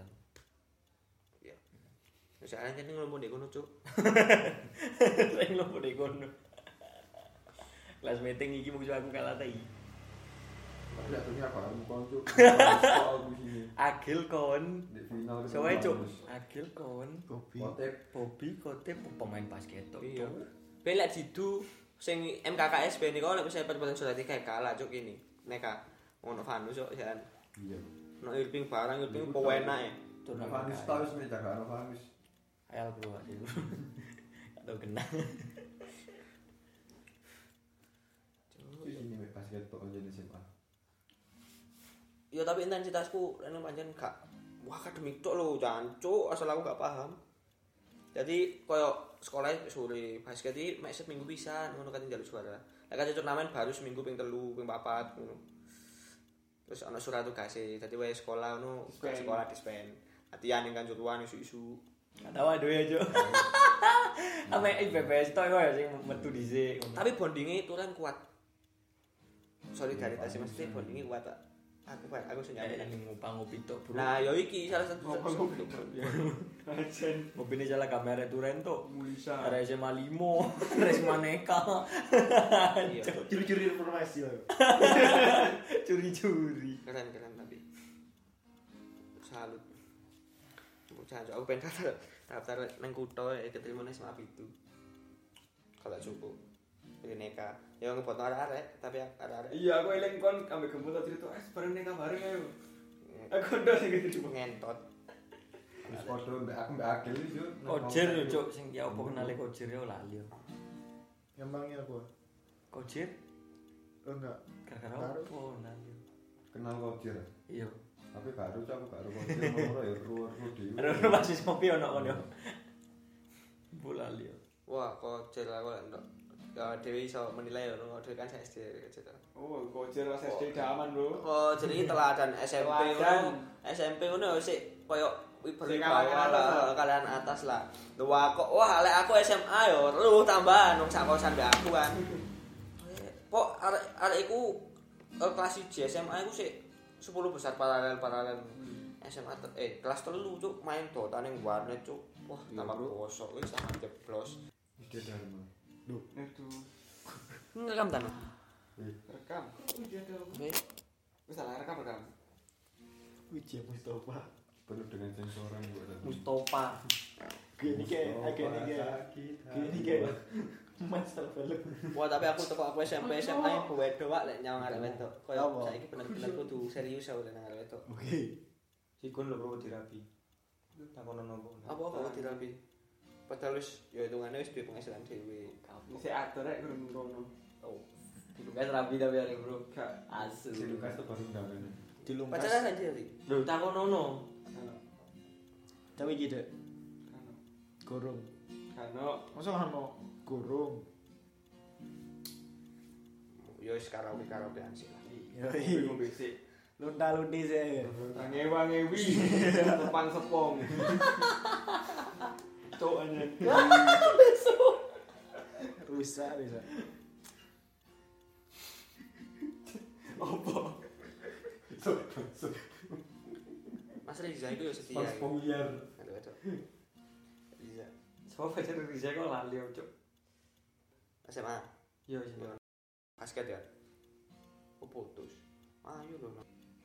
wis arek jeneng ngomong ndek kono cuk Sing lho nek kono. Kelas meeting iki mung aku kalah ta iki. Lihat tuh apa kamu konco. Soal begini. Agil kon. Di final ketemu Soale cuk. bagus. Agil kon. Kotep. Bobby Kotep pemain basket tok. iya ben lek didu sing M K K S ben niku lek wis pertandingan sudah tiga kalah cuk ini neka ngono Vanus cuk jan Iya. no Irving barang Irving po enak ya. Turnamen Vanis K L. tau wis meja karo Vanis. K L bro aja bro. Atau kena. Wis ini mek basket tok jadi S M A. Ya tapi intensitasku anu pancen gak wah akademik tok lho, jancuk asal aku gak paham. Jadi koyo sekolah sore basket iki mek seminggu pisan ngono kan njaluk suara. Lah kan turnamen baru seminggu ping telu, ping papat ngono. Terus ana surat tugase, dadi wae sekolah ngono, sekolah dispen. Latihan ning kanjuruan isu-isu. Gak tahu aduh ya, Cuk. Ame I P P S tok ya sing metu dhisik. Tapi bondingnya itu kan kuat. Solidaritas mesti bondingnya kuat tak. Aku aku sing Kayak nyampe ning ngupang ngopi tok, Bro. Nah, yo iki salah satu Ajen Ngopine salah kamera turen tok. Mulisa. Ada S M A lima, Res Maneka. Iya. Curi-curi informasi lah. Curi-curi. Keren-keren tapi salut. Bocah aku pengen daftar daftar nang kutho ya keterima nang S M A itu. Kalau cukup. Ini neka. Ya ngebot arek-arek tapi arek-arek Iya, aku eling kon ambek gembul tak cerita, "Eh, bareng nek bareng ayo." Aku ndak sing gitu. ngentot. Wis padha mbek aku mbek Agil wis yo. Kojer yo, Cuk, sing ya opo kenale Kojer yo lali yo. Emangnya apa? Kojer Oh enggak. gara-gara opo lali yo. Kenal Kojer. Iya. Tapi baru aku gak ro Kojer nomor ya ro-ro dhewe. Ada masih ngopi ono kono. Bulali yo. Wah, kok jel aku lek ndok. Ya dhewe iso menilai yo dhewe kan S D gitu. Oh, kojer pas S D daman, Bro. Oh, jadi teladan S M P ngono. Teladan. S M P ngono sik koyo Sing berwibawa kalangan atas lah, lah. kalian atas lah. Wah kok wah lek aku S M A yo lu tambahan wong sak kosan mbek aku kan. Kok arek arek iku eh, kelas satu S M A iku sik sepuluh besar paralel-paralel. S M A te- eh kelas telu cuk main Dota ning warnet cuk. Wah, tambah bosok wis sama jeblos. Ide Dharma. Itu Ngerekam ta? rekam. Oh, dia ada. Wis. Wis salah rekam rekam. Wiji Mustafa. Penuh dengan sensoran buat Mustafa. Gini kayak agak ini kayak gini kayak master film. Wah, tapi aku teko aku S M P S M A yang wedok wak lek nyawang arek wedok. Kaya Apa? saiki bener-bener kudu serius aku nang arek wedok. Oke. Sikun lho bro dirapi. Takono nopo. Apa kok dirapi? Padahal wis ya hitungane wis duwe penghasilan dhewe. Wis atur rek kurang ngono. Oh. Dilungkas rapi tapi arek bro. Gak Asu. Si Lukas tuh baru undangan. Dilungkas. Pacaran aja sih. Lho takono no. Tapi gitu. Kano. Gorong. Kano. Masa ono gorong. Yo wis karaoke-karaokean sih lah. Yoi. Ngombe sik. Lunta-lunti sih. Ngewa-ngewi. Tepang sepong. Cok anjen. Rusak, rusak. Apa? Mas Riza itu yo setia. Pas ya. pemilihan. Aduh aduh. Riza. Sopo pacar Riza kok lali yo, Cuk. S M A. Yo sih. Basket ya. Oh putus. Ayo lho.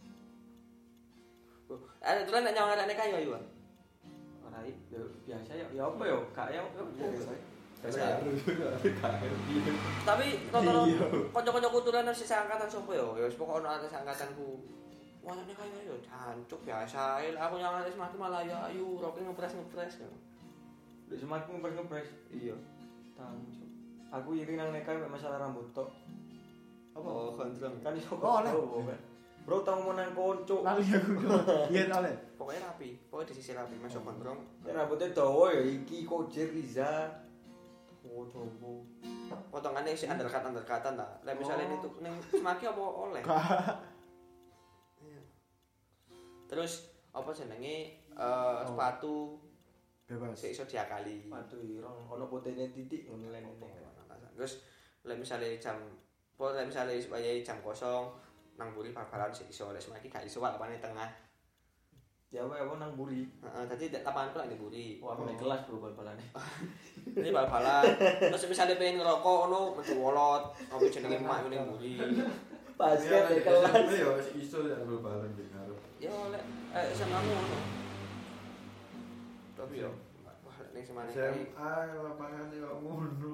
Oh, ada tulen nek nyawang arek kayu ayo. Ora yo biasa yo. Ya apa yo? Gak yo. Biasa. Tapi tonton kanca-kancaku tulen sing angkatan sopo yo? Ya wis pokoke ono atas angkatanku. Wah, nek kayu yo jancuk biasa ae. Aku nyawang arek semakin malah ya ayo roke ngepres-ngepres. Lek semakin ngepres-ngepres. Iya. Tahu, Cuk. Aku iri nang nekai mek masalah rambut tok. Apa? Oh, gondrong. Kan iso Oh, oleh. Bro tau mau nang konco. Lali aku. Iya, oleh. Pokoknya rapi, pokoknya disisir rapi, masuk gondrong. Ya rambutnya dawa ya iki Kojer Riza. Oh, coba. Potongannya isi undercut undercutan ta. Lah misalnya itu ning semaki apa oleh. Iya. Terus apa jenenge eh sepatu Bebas. sik iso diakali. Waduh, irong ono potene titik ngono lene. Terus lah misalnya jam apa lah misalnya supaya jam kosong nang buri bal-balan sik iso lek semaki gak iso lapane tengah. Ya wae apa nang buri. Heeh, dadi lapanganku lak ning buri. Wah, aku nek kelas bro bal-balane. Ini bal-balan. Terus misalnya pengen ngerokok ono metu wolot, apa jenenge mak ning buri. Basket di kelas. Ya wis iso ya bal-balan iki karo. Ya lek eh sama ngono. Tapi yo wah lek ning semane S M A lapangane kok ngono.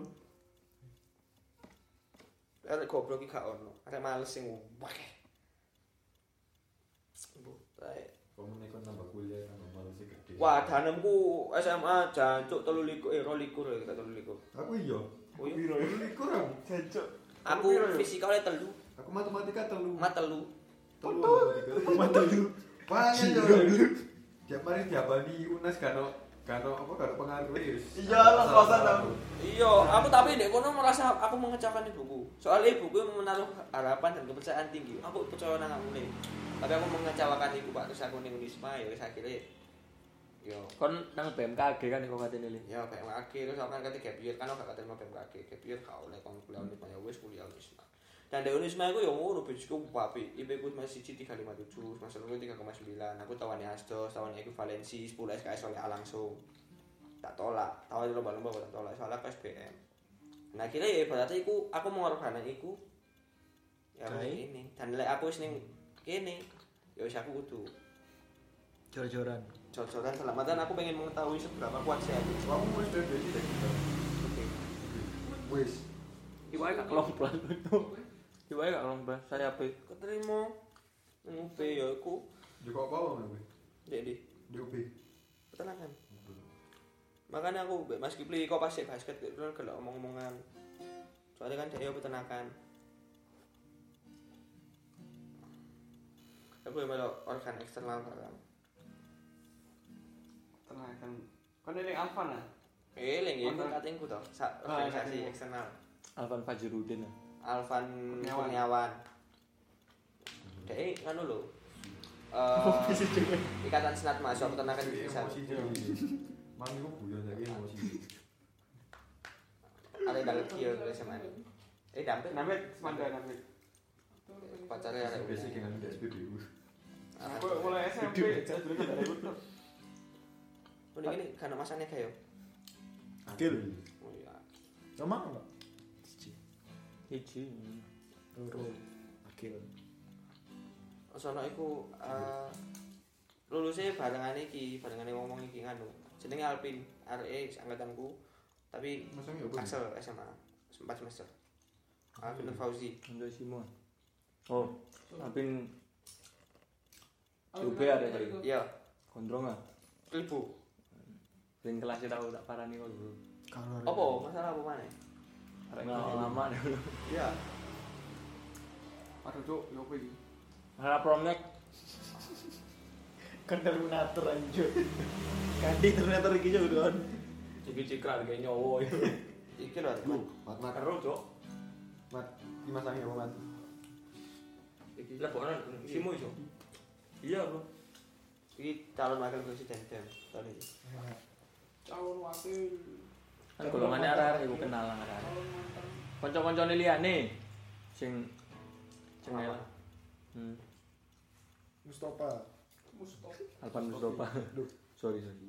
Arek goblok iki gak ono. Arek males sing wakeh. Bu. Komun ikut nambah kuliah nambah malu sih gede. Wah, danemku S M A jancuk telu likur eh dua likur ya telu likur. Aku iya. Oh iya. Piro ya? Likur aku. Jancuk. Aku fisika oleh telu. Aku matematika telu. Mat telu. Telu matematika. Mat telu. Pangen yo. Tiap hari diabani U N E S karo karo apa karo pengaruh wis. Iya, lah kosan aku. Iya, aku tapi ndek kono merasa aku mengecewakan ibuku. Soalnya ibuku menaruh harapan dan kepercayaan tinggi. Aku percaya nang aku nih. Tapi aku mengecewakan ibu Pak terus aku ning Unisma ya wis akhire yo Kon nang B M K G kan kok katene le. ya B M K G terus aku kan ketika gap year kan aku gak keterima B M K G. Gap year gak oleh kon kuliah Unisma ya wis kuliah Unisma. Dan di Unisma aku yo ngono bejku apik. I P ku masih tiga koma lima tujuh, semester loro tiga koma sembilan. Aku tawani Asdos, tawani ekuivalensi sepuluh S K S oleh A langsung. Tak tolak, tawani lomba-lomba tak tolak soalnya P S B M. Nah kira ya berarti iku aku mengorbankan iku ya ini. Dan lek aku wis ning kene ya wis aku kudu Jor-joran. jor-joran selamatan aku pengen mengetahui seberapa kuat saya aku. Kamu wis dhewe iki kita. Oke. Wis. Iwae gak kelompok itu. Iwae gak kelompok. Saya apa? Keterima nang U B ya aku Yo kok apa kowe? ndek di Di U B. peternakan. Makanya aku mbek Mas Kipli kok pas basket itu kan gelek omong-omongan. Soalnya kan dia peternakan. Aku yang melok organ eksternal kan. Tenakan. Kon eling Alfa nah. Eh, lagi itu Organ- katengku toh, sa- Ah, organisasi iya. eksternal. Alvan Fajrudin. Alvan Kurniawan. Kurniawan. Dek nganu lho. Eh, Ikatan Senat Mahasiswa Peternakan Indonesia. Emosi jadi. Mami ku guyon lagi emosi. Ada yang dalam kieu S M A. Eh, dampet Namanya Semanda namanya. pacarnya ada Basic dengan S P B U. Aku mulai S M P saya dulu kan dari itu. Udah gini karena masanya kayak Akil. oh iya. Sama enggak? Hiji. Loro. Akil. Sono iku eh lulusnya barengan iki, barengan ngomong iki nganu. Jenenge Alpin, R E angkatanku. Tapi Masangnya apa? Axel S M A empat semester. Alvin Fauzi. Untuk Simon. Oh, Alvin U B ada tadi. Iya, Gondrong ah. Klibu. Ben kelasnya tahu tak parani kok dulu. Apa? Masalah apa mana? Arek lama dulu. Iya. Aduh cuk, yo apa iki? Masalah promnek Kan Terminator anjir. Kandi Terminator iki yo don. iki cikrak kayak nyowo itu. Iki lho. Mat mat. Karo, Cok. Mat. Iki masangnya apa mat? Iki Lebonan Simo iso. Iya, Bro. iki calon wakil presiden dem tahun ini. Calon wakil. Kan golongannya arek-arek iku kenal lah arek. Kanca-kancane liyane sing sing elek. Hmm. Mustafa. Mustofa. Alvan Mustafa. Duh, sorry sorry.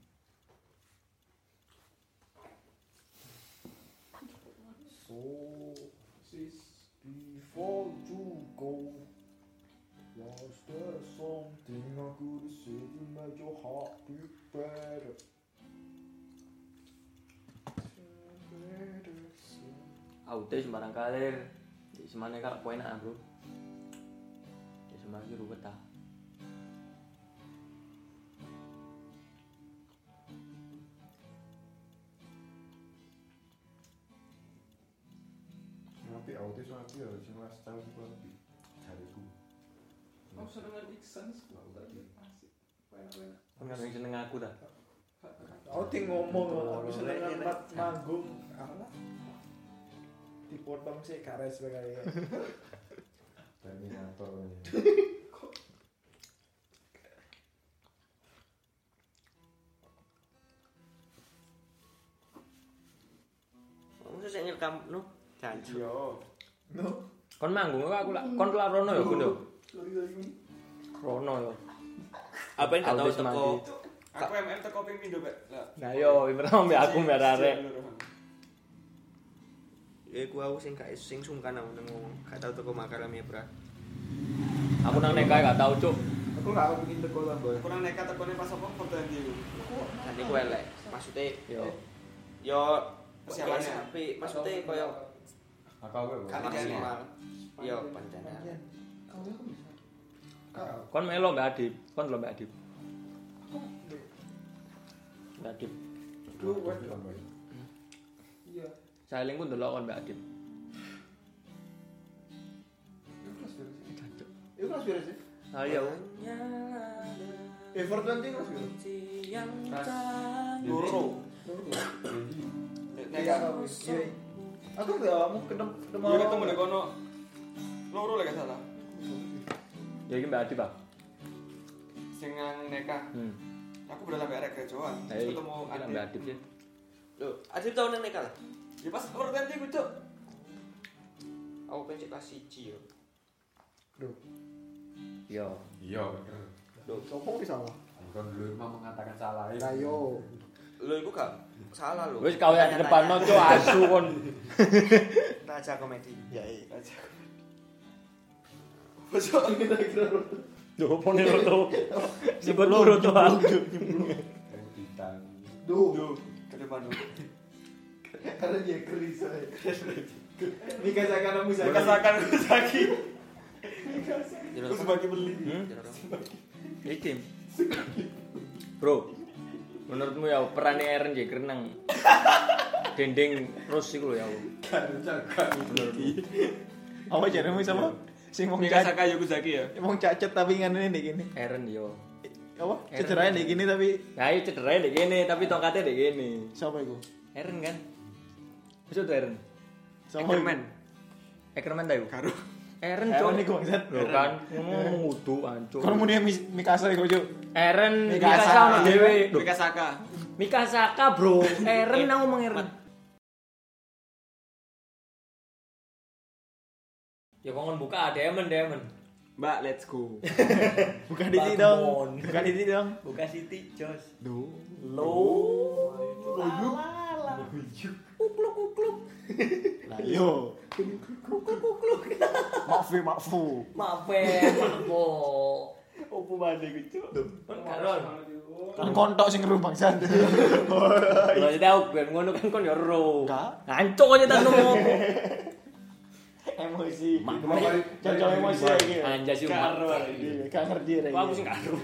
So sis before you go. Was there something I could have said to make your heart beat better? Aute sembarang kalir. Di semane kalau poin enak, Bro. Di semane ki ruwet ta. Tapi autis aku ya sing last tahun ku lebih jariku. Aku senengan Iksan aku tadi asik. Enak-enak. Kan kadang seneng aku ta. Aku ting ngomong aku seneng mat manggung apa? Dipotong sih gak respect kayak. Terminator. Maksudnya saya nyerekam no janji. Yo. No. Kon manggung kok aku lak kon kelar rono ya, Kun yo. Sorry sorry. Rono yo. Apa yang gak tahu Autis teko mati. Aku M M teko ping pindho, Pak. Lah. Nah yo, pertama mbek aku mbek arek. ya ku aku sing gak sing sungkan aku nang ngomong gak tau teko makarame bra. Aku nang nekai gak tau, Cuk. Aku gak kepengin teko lah, Boy. Kurang nekat tekone pas apa foto yang di. Dan iku elek. Maksudnya Yo. yo Persiapannya. tapi maksudnya koyo Aku apa? Kali maksimal. Yo pancen. Kon melo Mbak Adip, kon lho Mbak Adip. Mbak Adip. Duh, wes iya. Saling ku ndelok kon Mbak Adip. Itu kelas berapa sih? Ayo. Everton itu kelas berapa? Loro. Nek iya. Aku udah kamu ketemu ketemu. Iya ketemu nek kono. Loro lek gak salah. Ya iki Mbak Adip, Pak. Sing nang Neka. Hmm. Aku udah sampai arek gerejoan. Hei, Ketemu Mbak Adit. Adip ya. Lho, Adit tau nang Neka lah. Ya pas loro ganti ku, Cuk. Aku pengen kelas siji yo. Duh, Yo. Iya bener. duh, sopo ki salah? Kon dulu mah mengatakan salah. Ayo. Lho iku gak salah lho. Wis kawin di depan no cuk asu kon. Raja komedi. Ya iya. Aja. Bosok Kira-kira Lho opo nek roto. Sibut loro to. Bintang. duh. ke depan dulu. Karena dia keris saya. Mika Sakana Musaki. Kasakan Musaki. Jero Terus bagi beli. Hmm? Iki. Bro. Menurutmu ya peran Eren J Kreneng. Dendeng terus iku lho ya. Kan jaga. Apa jaremu sama? Sing wong Mika cacat. Saka Yokuzaki ya. Wong cacat tapi ngene nek gini. Eren yo. Apa? Cederanya nek gini tapi Ya iya cedera ndek kene tapi tongkatnya ndek kene. siapa iku? Eren kan. Wis tuh Eren. Sama Ackerman. Ackerman ta iku? Karo. Eren Eren cok. iku bangsat. Lho kan ngono ngudu ancuk. Kon muni Mikasa iku, Cuk. Eren Mikasa. Mikasa ono dhewe. Lho, Mika Saka. Mikasaka, Bro. Eren nang ngomong Eren. Ya kok buka Diamond Diamond. Mbak, let's go. Bukan di sini dong. Bukan di sini dong. Buka Siti, Jos. Duh. Lo. Loyuk. Kukluk kukluk. Yo. Kukluk kukluk. Mafu, mafu. Maaf ya, maafo. Opo mane ku, Cuk? Kan karon. Kan kontok sing ngeru bangsat. Lho jadi aku ben ngono kan kon yo ro. Enggak. Ngancuk aja tak ngono. Emosi. Mak- Cocok emosi iki. Anjas sih mak. Karo. Iya, gak ngerti rek. Kok aku sing karo.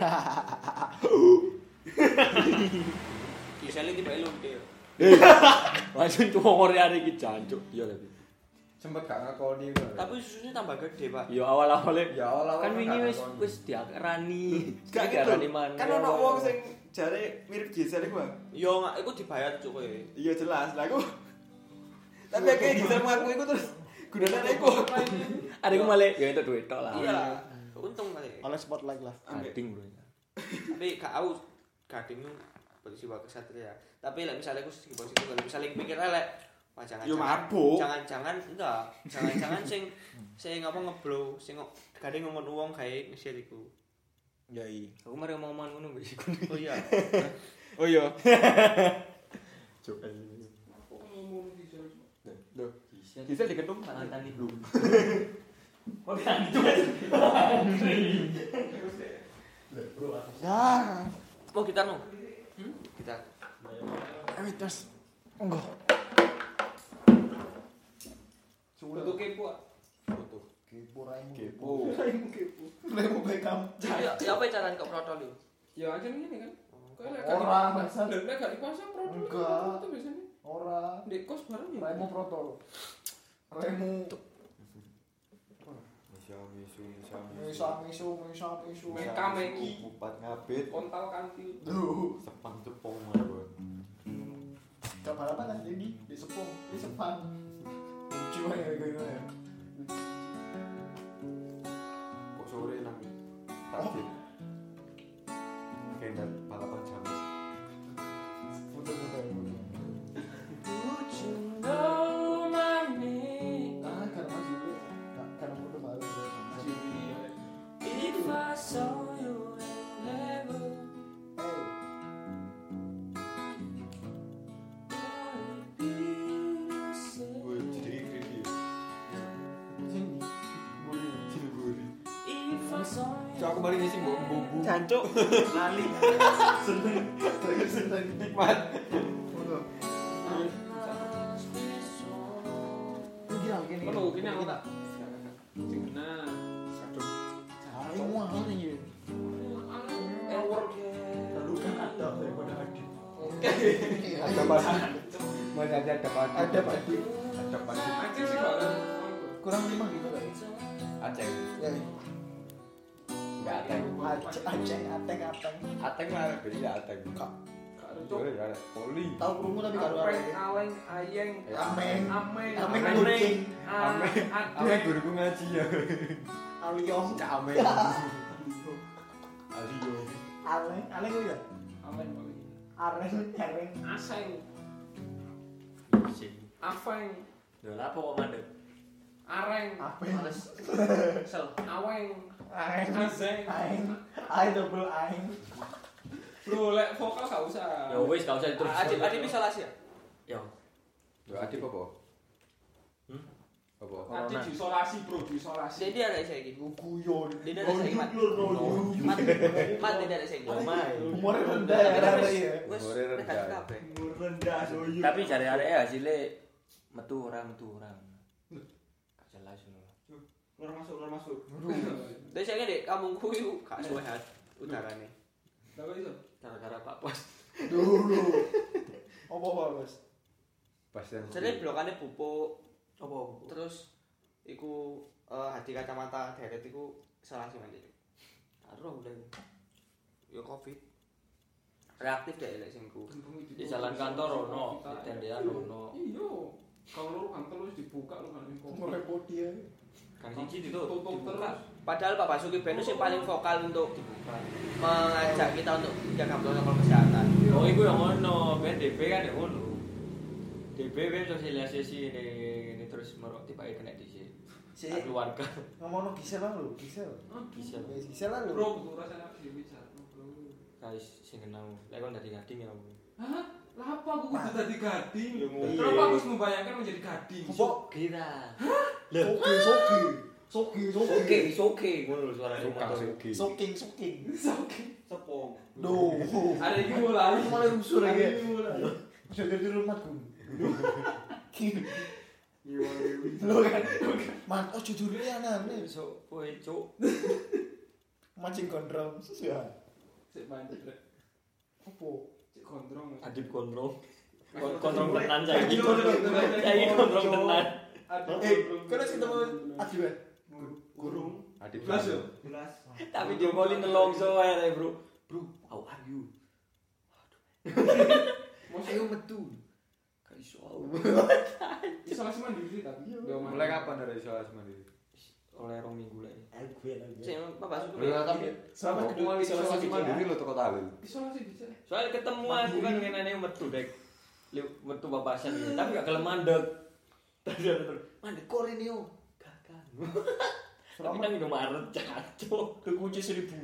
Kisah lagi bae lu dia. Langsung tuwa Korea iki jancuk. Iya tapi. Sempet gak ngakoni ngono. Tapi susunya tambah gede, Pak. Ya awal-awale Ya Allah. kan wingi wis wis diarani. Gak diarani gitu. mana. Kan ono wong sing jare mirip Gisel iku, Bang. Yo nggak, iku dibayar cuk kowe. Iya jelas. Lah aku tapi kayak Gisel ngaku iku terus gunane iku. Adekku malah ya itu duit tok lah. Iya. Untung kali. Oleh spotlight lah. Gading bro. Tapi gak aku gading itu posisi wakil satria. Tapi lek misalnya aku segi posisi kalau misalnya mikir elek, wah jangan. Yo mabuk. Jangan-jangan enggak. Jangan-jangan sing sing apa ngeblow, sing gading ngomong uang kae ngesir iku. Ya iya. Aku mari ngomong ngono mbek iku. Oh iya. Oh iya. Cuk. Loh, Gisel diketum Mantan iki belum. Kok gantung. Ya. Mau gitar mau? Hmm? Gitar. Ayo tas. Enggak. Foto kepo. Foto. Kepo raimu. Kepo. Raimu kepo. Raimu Beckham. Ya, ya apa caranya kok protol itu? Ya aja ini kan. Kayak lek Orang, gak Bangsat. lek gak dipasang produk Enggak. itu biasanya. Ora. Dek kos barang ya. Raimu protol. Raimu. Misu misu misu. Misa misu misa misu. Meka meki. Kupat ngabit. Kontal kantil. Duh. Sepang cepong mawon. Gak balapan kan ini di sepung, di sepan. Cuma ya gimana ya? Kok sore nang takdir. Kayak balapan jam. Foto-foto ya. Ah, karena masih dulu. Nah, karena foto baru ya. Masih Gue jadi creepy. Sini. Buri. Jadi buri. Cuk aku bari ngisi bumbu. Jancuk. Lali. Terakhir seneng. Nikmat. Foto. Lu gila gini. Ngono kene aku tak. Nah, kadung. Cari muah. Ada pasti. Masih ada ada pasti. Ada pasti. Ada pasti. Aceh sih gak ada. Kurang lima gitu kan. Aceh. Ya. Enggak Ateng. Aceh, Aceh, Ateng, Ateng. Ateng mah ada beda Ateng. Kak, Gak ada, Cuk, Cuk. ya ada poli. tahu krungu tapi karo Apeng, arek. aleng, ayeng, Ameng. ameng, Ameng ameng, kucing. Ameng. adeng. Ameng guruku ngaji ya. Aliong. Cak Ameng. Alio. Aleng, aleng ku ya. Aleng, aleng. Areng, areng. Aseng, Sing. afeng, Lho lha apa kok mandek? areng, Apa? sel, aweng, Aeng. azeng. Aeng. Aeng double aeng. Bro, lek vokal gak usah. Ya wis gak usah terus. Adip adip isolasi ya? Ya. Lho Adip apa? Hmm? Apa? Nanti diisolasi, bro, diisolasi. Jadi ada saya gitu. Guyon. Dia ada saya mat. Mat. Mat tidak ada saya gitu. Umurnya rendah ya, rendah ya. Wes Umurnya rendah. negatif kabeh. rendah doyuk. Tapi jare arek hasilnya metu ora metu ora. Gak jelas ngono. Keluar masuk, keluar masuk. Terus saya dek kampungku itu gak sehat udarane. Lah kok iso? Gara-gara Pak Pos. Dulu. Apa-apa, Mas? Pas yang Jadi blokane pupuk, Apa? terus iku eh hadi kacamata deret iku isolasi mandi. Karo udah. Yo covid. Reaktif deh lek sing ku. Di jalan kantor ono, di tendean ono. Iya. Kalau lu kantor lu dibuka lu kan info. Ngerepoti ya. Kan siji itu Tutup dibuka. terus. Padahal Pak Basuki Benus yang paling vokal untuk mengajak kita untuk menjaga protokol kesehatan. Oh, iku yang ono, ben D B kan ya ngono. D B ben sosialisasi ini ini terus merok tiba kena di sini. Si Keluarga ngomongno Gisel lah lho, Gisel. bisa. Wes Gisel lah lho. Bro, butuh rasanya aku bicara. Guys, sing kenal. Lek kon dadi gading ya. Hah? Lah apa aku kudu tadi gading? Ya, ngono. Kenapa aku harus membayangkan menjadi gading? Kok Kira. soki, soki. Soki, soki. Oke, oke. Ngono lho suarane suka motor. suki. Soking, soking. Sepong. Duh. Ada yang mulai. Aku malah rusur Ada ya. yang mulai. Bisa jadi rumahku. Iya, Lo kan. Man, oh jujur ya aneh. So, kowe cuk. Mancing gondrong. Ya. Cek banget. Rek. Apa? Cek gondrong. Adip kontrong. Kon- Kontrong tenan saiki. Kontrong tenan. Saiki kontrong tenan. Aduh, Eh, gondrong. kan harus ketemu Adi ya? Gurung. Adip. Belas yo. Belas. Tapi diomongin nelongso ae, Bro. Bro, how are you? Ayo metu. Gak iso. isolasi mandiri sih tapi. Yo, Mulai kapan dari isolasi mandiri? Oleh rong minggu lagi. Aku ya lagi. Sing Pak Basuki. Lho tapi Selamat aku kedua mulai isolasi isolasi mandiri lo toko talil. Isolasi bisa. Soalnya ketemu aku kan ngenane metu dek. Liu metu babasan gitu. Tapi gak gelem mandek. Tadi ada terus. Mandek kok rene yo. Gagal. Tapi nang Indomaret cacuk. Kekunci seribu.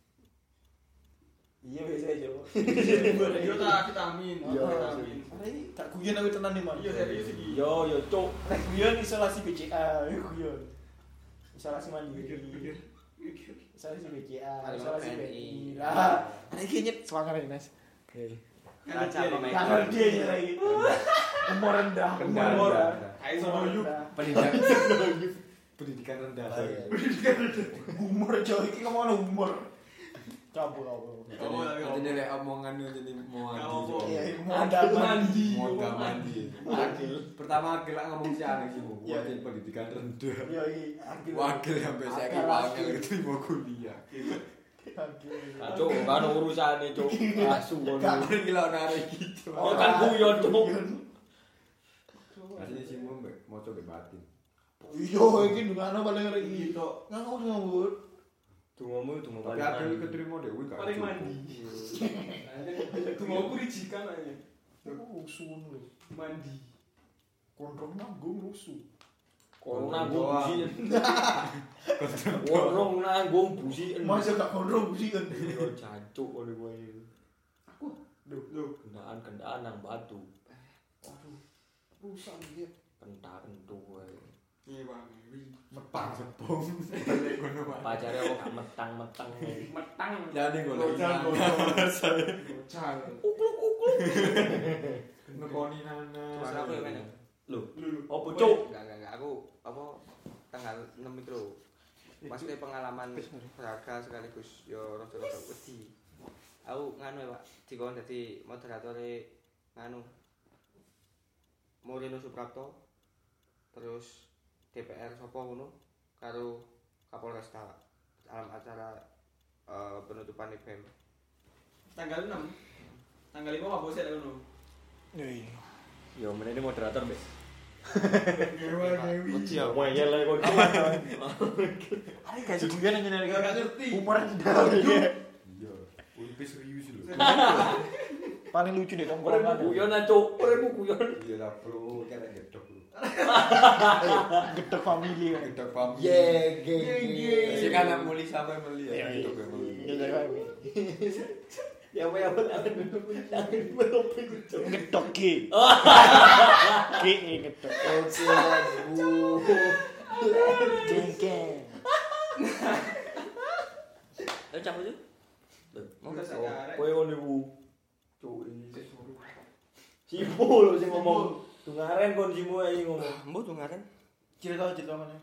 Iya biasa aja. Yo tak vitamin. Iya. Vitamin. Ini tak guyon aku tenan nih man. Iya serius iki. Yo yo cuk. Nek guyon isolasi B C A, ya guyon. Isolasi mandiri. Isolasi B C A, isolasi B I. Lah, ada iki nyet semangat ini, Mas. Kaca pemain. Jangan dia ya lagi. Umur rendah, umur Rendah, rendah. rendah. Ayo sono yuk. Pendidikan pendidikan rendah. Umur jauh iki ngomong umur. Cabul cabul. Jadi lek omongan jadi mau mandi. Iya, modal mandi. Modal mandi. Wakil. Pertama wakil lah ngomong si aneh sih bu. Iya. Wakil pendidikan rendah. Iya iki akil. Wakil sampai saya Akal wakil akil. keterima kuliah. Akil. Cuk, kan urusane cuk. Asu ngono. Kapan gila narik gitu. Oh kan guyon cuk. Aslinya sih mau mau coba batin. Iya, iki ndungane paling ngeri Gitu. ngawur ngawur. Dungomu dungo Tapi paling wakil mandi. keterima deh. wih, gak Paling cukup. mandi. Itu mau kurijikan aja. Oh, sun lho. Mandi. Kontrol nanggung rusuh. Korong nanggung busi. Korong nanggung busi. Masa gak kontrol busikan. Yo jancuk oleh kowe. Aku. Duh, kendaan-kendaan nang batu. Waduh. Rusak dia. Kentak-kentuk kowe. Iya bang. Metang sepung. Balik kono Pak. Pacare kok gak metang-metang. Metang. Jadi gue lagi Gocang, Bocah. ngekoni nana. Terus aku yang mana? Lho, Lulu. opo cuk? Enggak enggak enggak aku apa tanggal enam itu lho. Maksudnya pengalaman berharga sekaligus yo rada-rada wedi. Aku nganu ya, Pak, dikon dadi moderator nganu Moreno Suprapto terus D P R sapa ngono karo Kapolresta dalam acara uh, penutupan E B M Tanggal enam. Tanggal lima apa bosnya ngono? Iya. Yo menene moderator, Mbak. Dewa Dewi. Kecil Wah, ya lah kok. Ayo guys, guyon aja nek Gak ngerti. humor dalam dia. Iya, uripe serius lho. Paling lucu deh Orang tongkrongan. guyon aja, orang guyon. Iya lah bro, kena gedok bro. Gedek family kan. Gedok pam. Ye, ge, ge. Sing anak muli sampai meli ya. Iya, iya. Gedok ya meli. Gedek family. Ya apa ya apa jangan melopi kucing. Gedek ki. Ki gedek. Oke, Bu. Jengkel. ayo cabut yuk Mau kowe ngono Bu. Cuk iki. Sipo lho sing ngomong. Dungaren kon simu ae ngomong. mbok tuh ngaren Cerita cerita mana?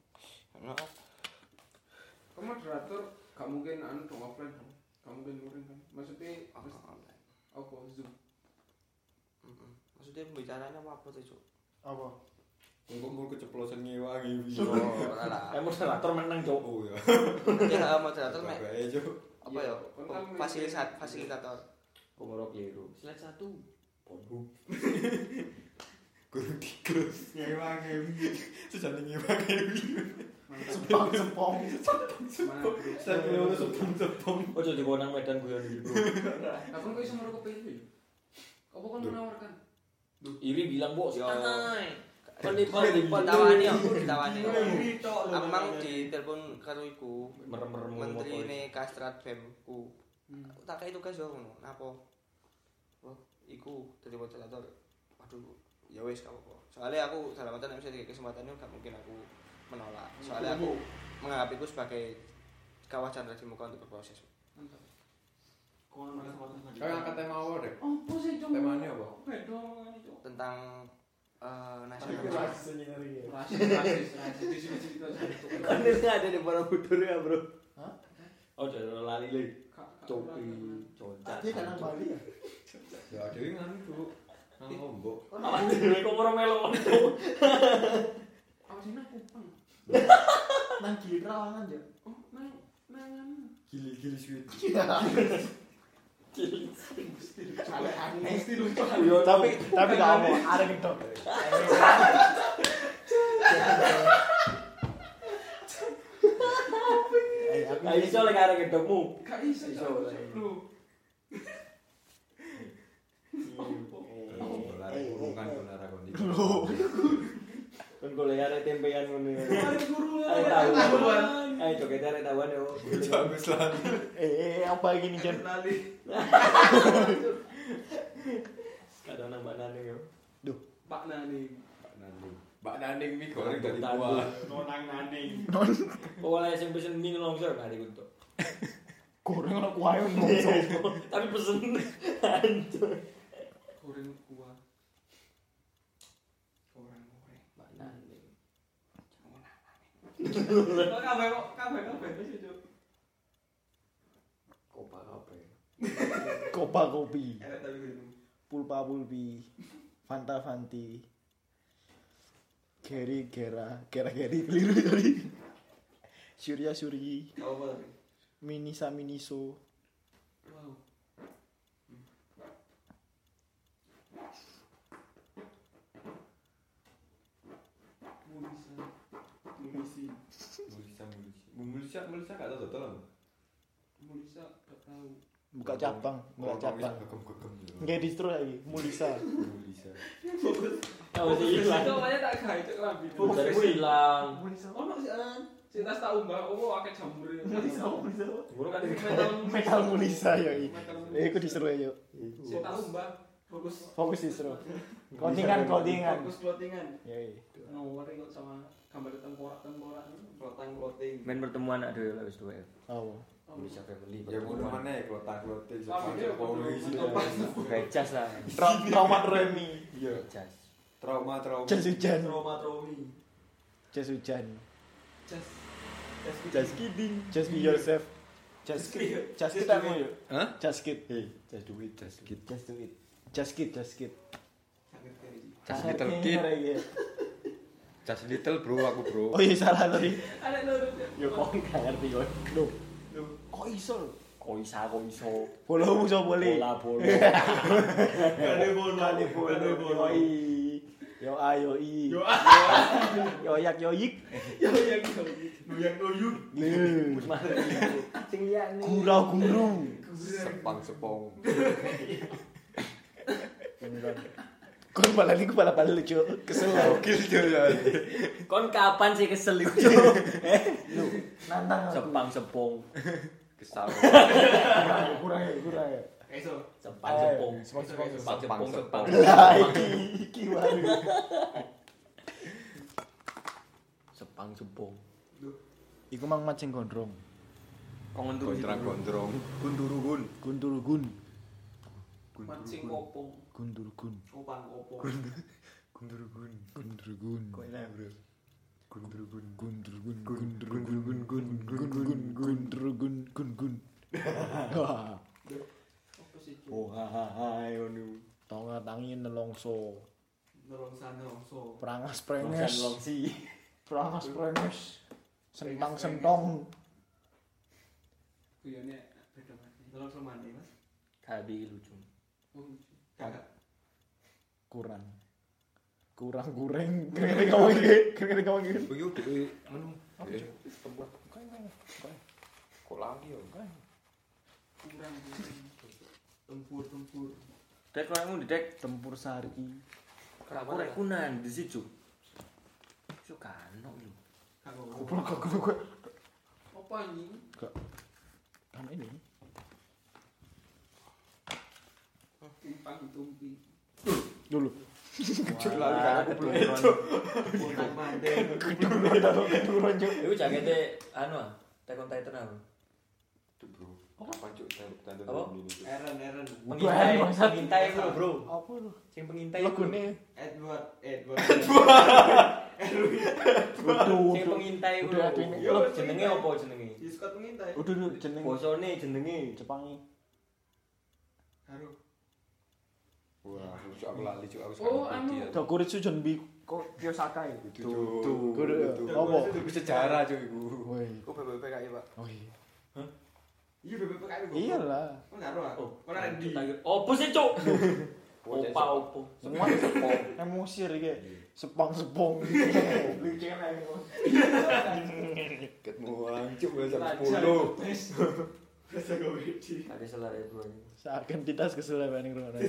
Kamu moderator gak mungkin anu dong offline dong. Gak mungkin luring kan. Maksudnya apa apa Zoom. Heeh. Maksudnya pembicaraannya apa tuh, Cuk? Apa? Engko mul keceplosan ngewangi. Oh, alah. Eh moderator menang, Cuk. Oh ya. Ya moderator mek Bae Cuk. apa ya? Fasilitas fasilitator. Pengurus keliru. Slide satu. Pornhub. Guru tikus ngewangi. Sejane ngewangi. Sepong sepong. Mana bro? Saya kira sepong-sepong. Ojo dikonang medan guyon iki, Bro. Aku kok iso merokok pilih. Apa kan menawarkan? Iri bilang, "Bos, Yo. santai." Penipu ditawani aku ditawani. Aku mang ditelepon karo iku Merem-merem menterine Kastrat B E M ku. Hmm. Tak kei tugas yo ngono. Napa? Oh, iku dadi moderator. Waduh, ya wis gak apa-apa. Soalnya aku dalam artian nek misalnya kesempatannya gak mungkin aku menolak. Soalnya aku menganggap itu sebagai kawasan di muka untuk berproses. Mantap. Kono malah sama Kayak angkat tema apa deh? Apa sih cuma? Temanya apa? Beda ngomongane cuk. Tentang eh nasional. Rasis, rasis, rasis. Di sini cerita satu. Kan ini ada di Borobudur ya, Bro. Hah? Oh, jangan lali lagi. Kak, Copi, concat. Dia kan nang Bali ya? Ya dhewe nganu Cuk. Nang Lombok. Apa dhewe kok ora melo itu? Apa sih nang Kupang? Nang Gili Trawangan ya. Oh, nang nang anu. Gili-gili sweet. Ale aneh mesti lucu. Tapi tapi gak apa, ada gedok. Lah iso lek arek gedokmu. Gak iso Iso, cuk. lah. Lho. Lari kurungan benar aku ndi. Kan golek arek tempean ngono. Arek guru. Arek tahuan. Ayo joget arek tahuan yo. Bagus lah. Eh, apa gini Jan? Lali. Kadang nambah nane yo. Pak Nani. Pak Naning. Pak Naning mi goreng dari buah. Nonang naning. Non Pokoknya sing pesen mie longsor kali untuk. goreng ono kuae nongso. Tapi pesen hancur. Goreng kuah. Goreng-goreng. Mbak Naning. Kok kabeh kok kabeh kabeh wis cuk. Kopa kape. Kopa kopi, Enak tapi gitu. pulpa pulpi, fanta fanti. Geri gera, gera geri keliru tadi. Surya Suryi, Apa tapi? Minisa Miniso. Wow. Mulisa. Mulisi. Mulisa mulisa. Mulisa mulisa gak tau total. Mulisa gak tahu. Buka cabang, buka cabang. Gegem-gegem. Nggak distro lagi, Mulisa. Mulisa. Oh, sih hilang. Itu namanya tak gawe cek lambi. Fokusmu hilang. Mulisa. Ono sih an. Sing tas tak umbah, oh akeh jamur. Mulisa, Mulisa. Guru kan Metal Metal Mulisa ya. Metal Eh, aku distro ya. Sing tak umbah, fokus Fokus distro. Clothingan, clothingan. fokus clothingan. Ya. Nomor kok sama gambar tengkorak-tengkorak. Klotang kloting. main pertemuan ada ya wis duwe. Oh. Bisa family. Ya ngono maneh klotak klotik Sama dia, polisi. Becas lah. Tra- Trauma Remi. Iya. Becas. Trauma trauma. Jas hujan. Trauma traumi. Jas hujan. Just Just kidding. Just be yourself. Just kid. Just kid aku yuk. Hah? Just kid. Hey, just do it, just do it. Just do it. Just kid, just kid. Just little kid. Just little bro aku bro. Oh iya salah tadi. Ada lurus. Yo kok gak ngerti kok. Loh. Kok iso? Kok isa kok iso. Bola musuh boleh. Bola bola. Kali bola, Kali bola. kali bola. Yo i. Yo ayo i. Yo Yo yak yo yik. yo yang yo yang noyuk. Sing liyane. Gurau guru. Sepang sepong. Kon balik ku balik balik lucu. Kesel. Gokil jo ya. Kon kapan sih kesel iku, Cuk? Eh, Lu nantang aku. sepang sepong. Kesal. Kurang ya, kurang ya. Iso. Sepang sepong. Sepang sepong. Sepang sepong sepang. Lah iki iki wae. Sepang sepong. Iku mang mancing gondrong. Kongon Gondrong-gondrong. Gundurugun. Gundurugun. Mancing kopong. Gundurugun. Opang opo. Gundurugun. Gundurugun. Kok enak, Bro? Gundurugun. Gundurugun. Gundurugun. Gundurugun. Gundurugun. Gundurugun. Wah. Apa sih? Oh, hai ngono. Tonga tangi nelongso. Nerongsan nerongso. Perangas Kan prenges. longsi. Perangas prenges. Sentang sentong. Guyone beda mati. Nerongso mandi, Mas. Kabi lucu. Oh, Kakak. Kurang. Kurang goreng. Kering ngomong iki. Kering ngomong iki. Oh yo dhewe anu. Eh, Kok lagi yo? kurang. Tempur tempur. Dek kono Dek. Tempur sari. Aku rek kunan di situ. Yo kanok lho. Kakak. Goblok goblok gue. Apa anjing? Kan ini. Timpang tumpi. Dulu. Cuk lali kan aku belum itu. Utang mandeng. Turun juk. Iku jakete anu ah, Attack on Titan apa? Tuh bro. Apa cuk tanda Apa? ini. Eren Eren. Pengintai, Bukan, bangsat. pengintai iku lho, Bro. Apa lu? Sing pengintai Lagu iku. nih. Edward Edward. Udah, Sing pengintai iku udah, lho. udah. Yo jenenge apa jenenge? Diskot pengintai. Udah dulu jeneng Bosone jenenge. Jepangi. Haru. Wah, cuk aku lali cuk aku Oh, sekarang anu. iki ya. Dokuritsu Junbi kok Kiyosaka ya? Tuh, Tuh. Kudu apa? Itu sejarah cuk iku. Woi. Iku B B P K I, Pak. Oh iya. Iya B B P K I. Iyalah. Kok ngaruh ah? Oh, Kok ada di. Opo sih, Cuk? Opa opo. Semua emosi iki. Sepang-sepong. Lucu kan aku. Ketemu cuk jam sepuluh. Rasa komedi. Ada salah ya, Bro. Seakan tidak kesel apa ning ngono.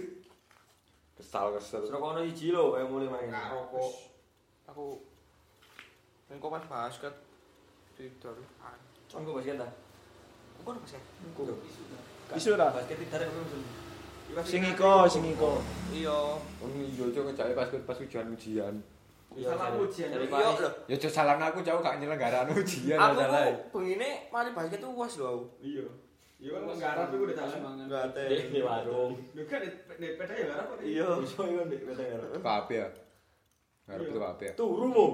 Kesal kesel. Terus kono iji lho kayak mulai main. Rokok. Aku engko pas basket tidur. Engko basket ta? Engko basket. Isu ta? Basket ditarik belum? Sing iko, sing iko. Iya. Wong yo cuk ngejake pas pas ujian-ujian. Salah ujian. Dari Iya Paris. lho. Ya cuk salah aku jauh gak nyelenggaraan ujian Aku salah. tuh bengine mari basket tuh uas lho aku. Iya. Iya kan nggarap iku udah jalan. Enggak Dek di warung. Lho kan di peda ya nggarap kok. Iya. Iso iku ndek wedang. Kabeh ya. Ngarep itu kabeh ya. Turu mo.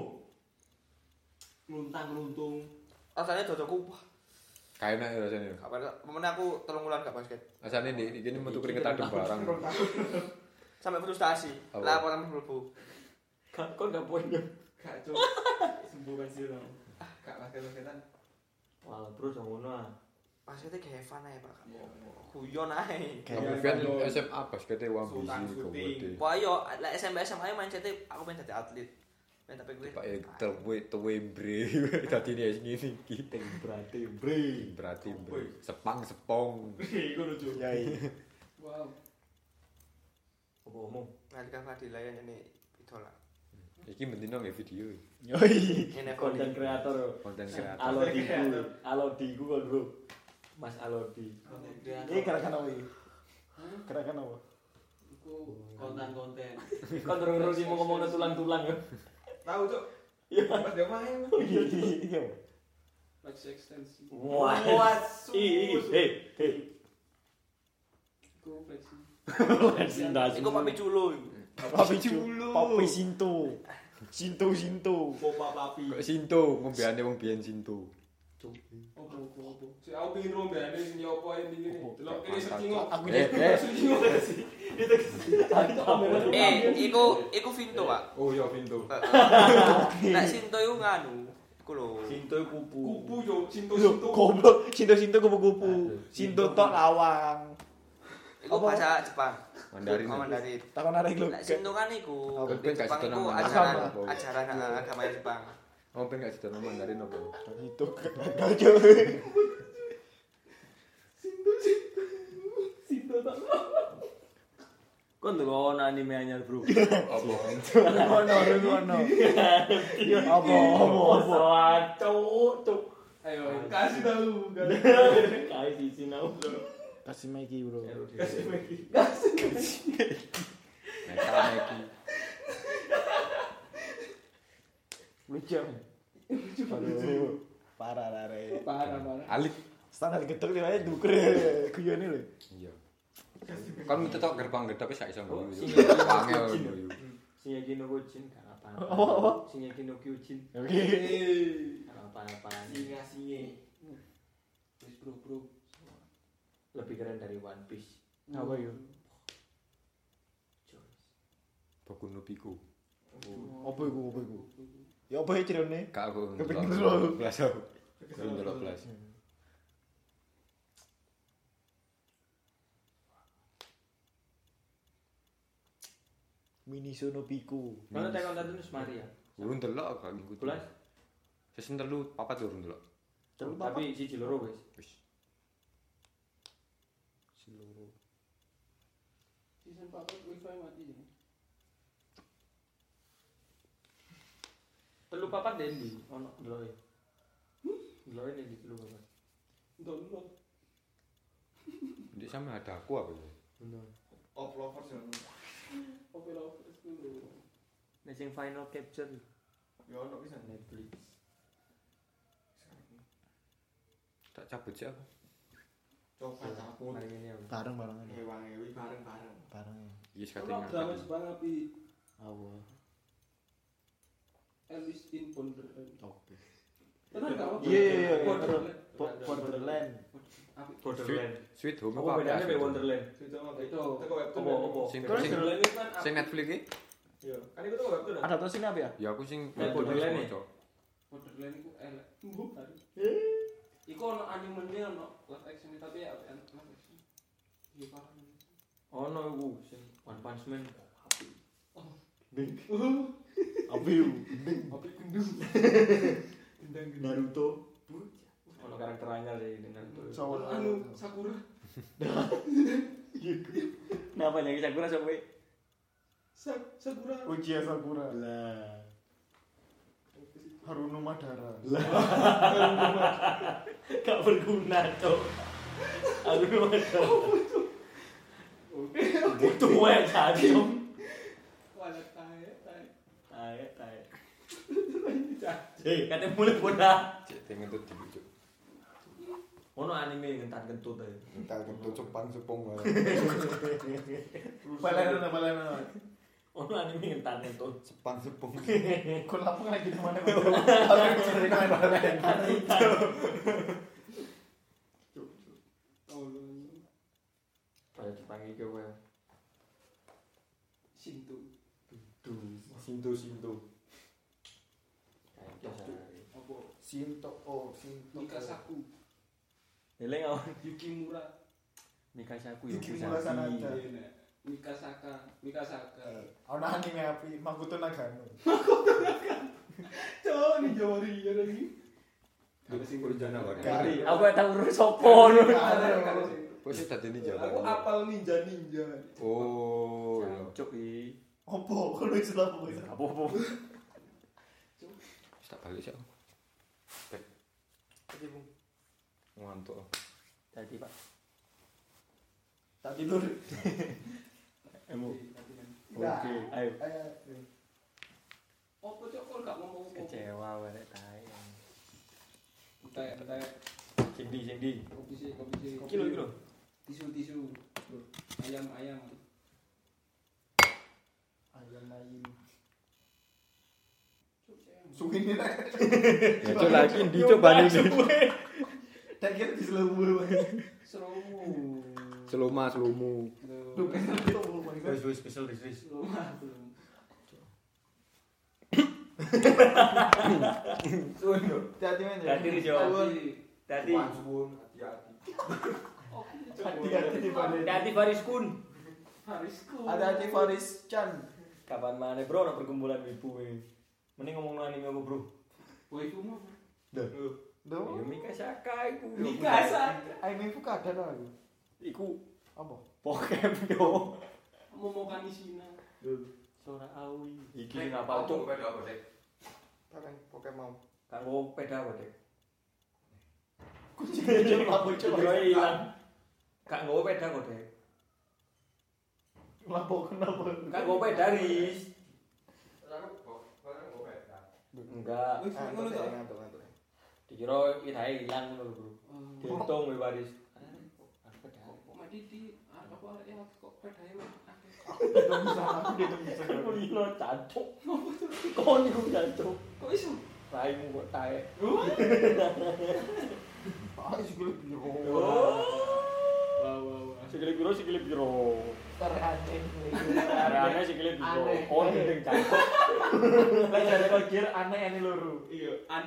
Luntang luntung. Rasanya dodoku wah. Kayak enak ya rasanya. Kapan pemenang aku telung wulan gak basket. Rasanya di di ini metu keringetan barang. Sampai frustasi. Apa? Laporan mlebu. Kok enggak poin. Gak cuk. Sembuhkan sih dong. Gak basket-basketan. Wah, bro jangan ngono ah. Basketnya kayak Evan aja Pak. Guyon ae. Kamu kan S M A basketnya wambisi komode. Wah yo, lek S M P S M A main C T aku pengen dadi atlet. Main tapi gue. Pak ya tewe tewe bre. Dadi ini ngene iki. Ting berarti bre. Berarti bre. Sepang sepong. Iku lucu. Ya iya. Wow. Apa omong? Nalika Fadila yang ini idola. Iki mendino nggak video. Yoi. Ini Konten kreator. Konten kreator. Alodi ku. Alodi ku kon, Bro. Mas Alodi. Ini kira-kira apa iki? Kira-kira apa? Iku Konten-konten. Kon terus sih mau ngomong tulang-tulang ya. Tahu cuk. Iya. Pas dia main. Iya iya. flex ekstensi. Wah. Wah, Ih, hei, hei. Iku flexi. Iku papi culo. Papi Culu. Papi Sinto. Sinto Sinto. Popa papi. Kok Sinto ngombeane wong biyen Sinto. Opo opo opo. Si aku pengin rombane sing yo opo ae iki. Delok kene searching kok. Aku Eh, eh. Eh, iku iku Vinto, Pak. Oh iya pintu. Nek Sinto iku nganu, iku lho. Sinto kupu. Kupu yo, sinto Loh, sinto. goblok, sinto-sinto kupu-kupu. Sinto tok lawang. Iku Apa? bahasa Jepang. Mandarin. Oh, Mandarin. Takon arek lho. Nek Sinto kan iku Aku pengen Jepang kasih iku tau nama ajaran agama. ajaran eh, agama Jepang. Oh pengen gak cerita Mandarin apa? Itu kacau. Sinto tak. Kok ndelok anime anyar, Bro? Apa? Ngono, ngono. Apa, apa, apa. Cuk, cuk. Ayo, kasih tahu. Kae di sinau. Kasih Meki, Bro. Kasih lagi. Metal Neki. Lucu. Aduh, parah lah re. Parah parah. Alik. Standar getok dia aja dukur guyone lho. Iya. Kan minta tok gerbang gedhe wis gak iso ngguyu. Sing- Wangel ngguyu. Shingeki no Kyojin gak apa-apa. Apa, apa? Shingeki no Kyojin Oke. gak apa-apa. Singa singe. Wis bro bro. Lebih keren dari One Piece. Apa yo? Boku no Pico. Apa iku, apa iku? Ya apa ya cerone? Gak aku. Kepingin dulu. Belas aku. Kepingin dulu belas. Mini Sono Piku. Mana tekan tadi nus Maria. Urun delok gak ngikuti. Belas. Season telu papat urun delok. Terus apa? Tapi siji loro wis. Wis. Seluruh. Season papat wifi mati. Telu papat dendi ono ndeloke. Ndeloke dendi telu papat. Download. Di sama ada aku apa ya? Bener. Of lovers ya. Oke lovers dulu. Nek sing final capture Ya ono bisa. Netflix. Tak cabut sih aku. Coba cabut. Mari ngene ya. Bareng-bareng aja. Ewangi bareng-bareng. Bareng. Yes Ono katanya. drama Jepang api Apa? Alice in Wonderland. Oke. Tenan gak? Iya, iya, iya. Wonderland. Borderland. Api. Borderland. Sweet Home Apa bedanya be itu? Wonderland? Itu apa? Itu. Teko webtoon. Apa apa? Sing Terus sing Wonderland itu kan sing Netflix iki? Iya. Kan itu teko webtoon. Adaptasinya apa ya? Ya aku sing Nek Wonderland nih. Wonderland iku elek. Mbuh. Iku ono animenya ono live action tapi ya live action. Iya parah. ono iku sing One Punch Man. Apa yuk? Api gendung. Naruto. Ono karakter anyar sih di Naruto. Soal Anu Sakura. Napa nyanyi Sakura sampai Sak- Sakura. Uchiha Sakura. Lah. Haruno Madara. gak berguna cok. Aku nomor butuh wae jadi cok. Wala tae tae. Tae tae. Eh, katanya mulai bodoh. cek pengen tuh dibujuk. Ono anime ngentan kentut ae. Entar kentut Jepang sepung. Balena balena. Ono anime ngentan kentut. Jepang sepung. Kau lapang lagi di mana? Aku sering main balena. Oh, Pada dipanggil ke wae. Shinto. Duh, Sinto Sinto. Kayak biasa. Apa? Sinto, oh Sinto. Mikasaku. Eleng awan Yukimura. Mikasaku ya. Yukimura Sanada. Iya, Nek. Mikasaka. Mikasaka. Ono anime api Makoto Nagano. Cok, ni Jori ya lagi. Ada sing urjana wae. Kari. Aku gak tau urus sopo nu. Kok sih tadi ninja. Aku apal ninja-ninja. Oh, iya. Cuk iki. Opo? Kau lu istilah apa? Apa-apa. Wis tak balik sih aku. Tek. Tadi Bung. Ngantuk. Tadi Pak. Tak tidur. Emu. Nah. Oke, ayo. Ayo. Apa cok kok gak ngomong apa? Kecewa wae tae. Tae, tae. Sindi sindi. Kopi sih, kopi sih. Kilo kilo. Tisu-tisu. Ayam-ayam. Ayam ayam. Cok, saya Suwine nek. Ya coba lagi dicoba nih. Tak kira di selemu. Seromu. Seluma selumu. Duh, kesel itu belum lagi. Wis wis kesel wis wis. Suwun yo. Hati-hati men. Hati-hati, Jo. Hati. Suwun, hati-hati. Hati-hati di Faris. Hati Fariskun. Harisku. Hati-hati Faris Chan. Kapan mana bro ana perkumpulan wibu e. Mending ngomong anime apa bro? Woi ku mau. Duh. Ya Mikasaka iku. Mikasa. Aime iku kadang aku. Iku Apa? Pokemon yo. Mau mau kanisina. Sora awi. Iki ngapa cuk? Peda apa, Dek? Takkan Pokemon. Kanggo peda apa, Dek? Kucing aja lapo Coba coba. ilang. Kak nggo peda kok, Dek. Lapo kenapa? Kak nggo peda ris. Aku kok, barang kok peda. Enggak. Wis Ah, ngono ngantuk, to. ngantuk, ngantuk. Dikira irahe ilang ngono lho, Bro. Diuntung we waris. Kok mati di apa arek kok pedae mah. Tidak bisa, aku tidak bisa. Kulino cancuk. Kon iku cancuk. Kok iso? Raimu kok taek. Ah, sikile biru. Oh. Wah wah wah. Sikile piro sikile piro. Terhati. Arane sikile piro. Aneh. Kon gendeng cancuk. Lah jare kok kira aneh ini loro. Iya, an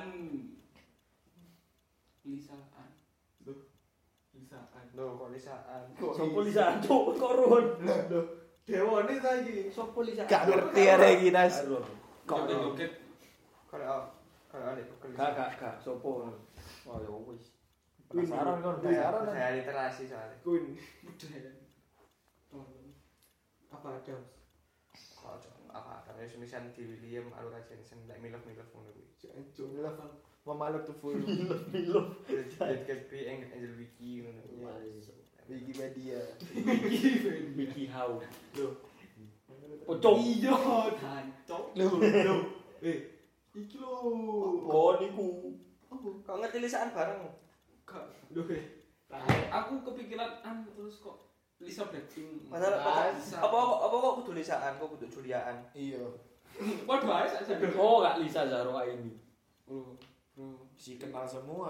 Lisaan. Duh. Lisaan. Loh, kok lisaan. Sopo lisan cuk kok ruhun. Loh, dewane saiki. Sopo lisan? Gak ngerti arek iki, Nas. Kok joget. Kalau kalau ada Gak gak gak sopo. Oh ya wis. Penasaran kon, penasaran. Saya literasi soalnya. Kun. Budaya. Tolong. Apa ada? Kalau apa ada tulisan di William Alura Jensen like milov-milov ngono kuwi. Jancuk. Memaluk tuh full. Bilo. It can be Angel Wiki ngono kuwi. Wikipedia. Wiki how. Loh. Pocong. Iya, jancuk. Loh, Loh. Eh, iki lho. Kon iku. Kok ngerti lisan bareng? Kak, loh eh. Aku kepikiran an terus kok Lisa Blackpink. Padahal Ah, apa Lisa. apa apa kok kudu lisaan, kok kudu juliaan. Iya. Waduh, ae sak sak. Oh gak Lisa Zahra ini. Bro, bro. Si kenal semua.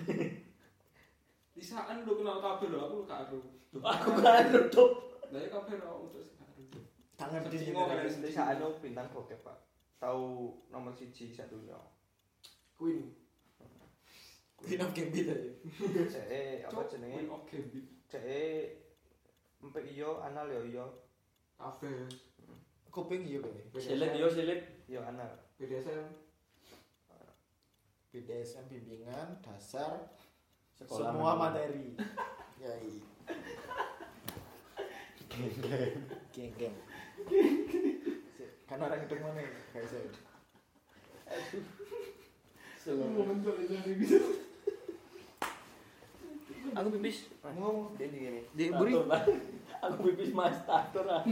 Lisaan lu kenal kabeh lho, aku gak aru. Aku kan tutup. Lah ya kabeh lho untuk gak aru. Tangan di Sing sini. ngomong kan Lisaan itu bintang bokep, Pak. Tahu nomor siji sak dunia. Queen. Queen of Gambit aja. Cek apa jenenge? Queen of Gambit. Cek empe iyo anal yo iyo. Kabeh. Kuping iya kene. Silit yo silit. Yo anal. B D S M. B D S M bimbingan dasar Sekolah semua menengah. materi. Yai. Geng geng. Kan orang itu mana? Kayak saya. Mau mentok ini bisa. Aku pipis. Ngomong. Dia gini. Di Tatur lah. Aku pipis mas tatur lah.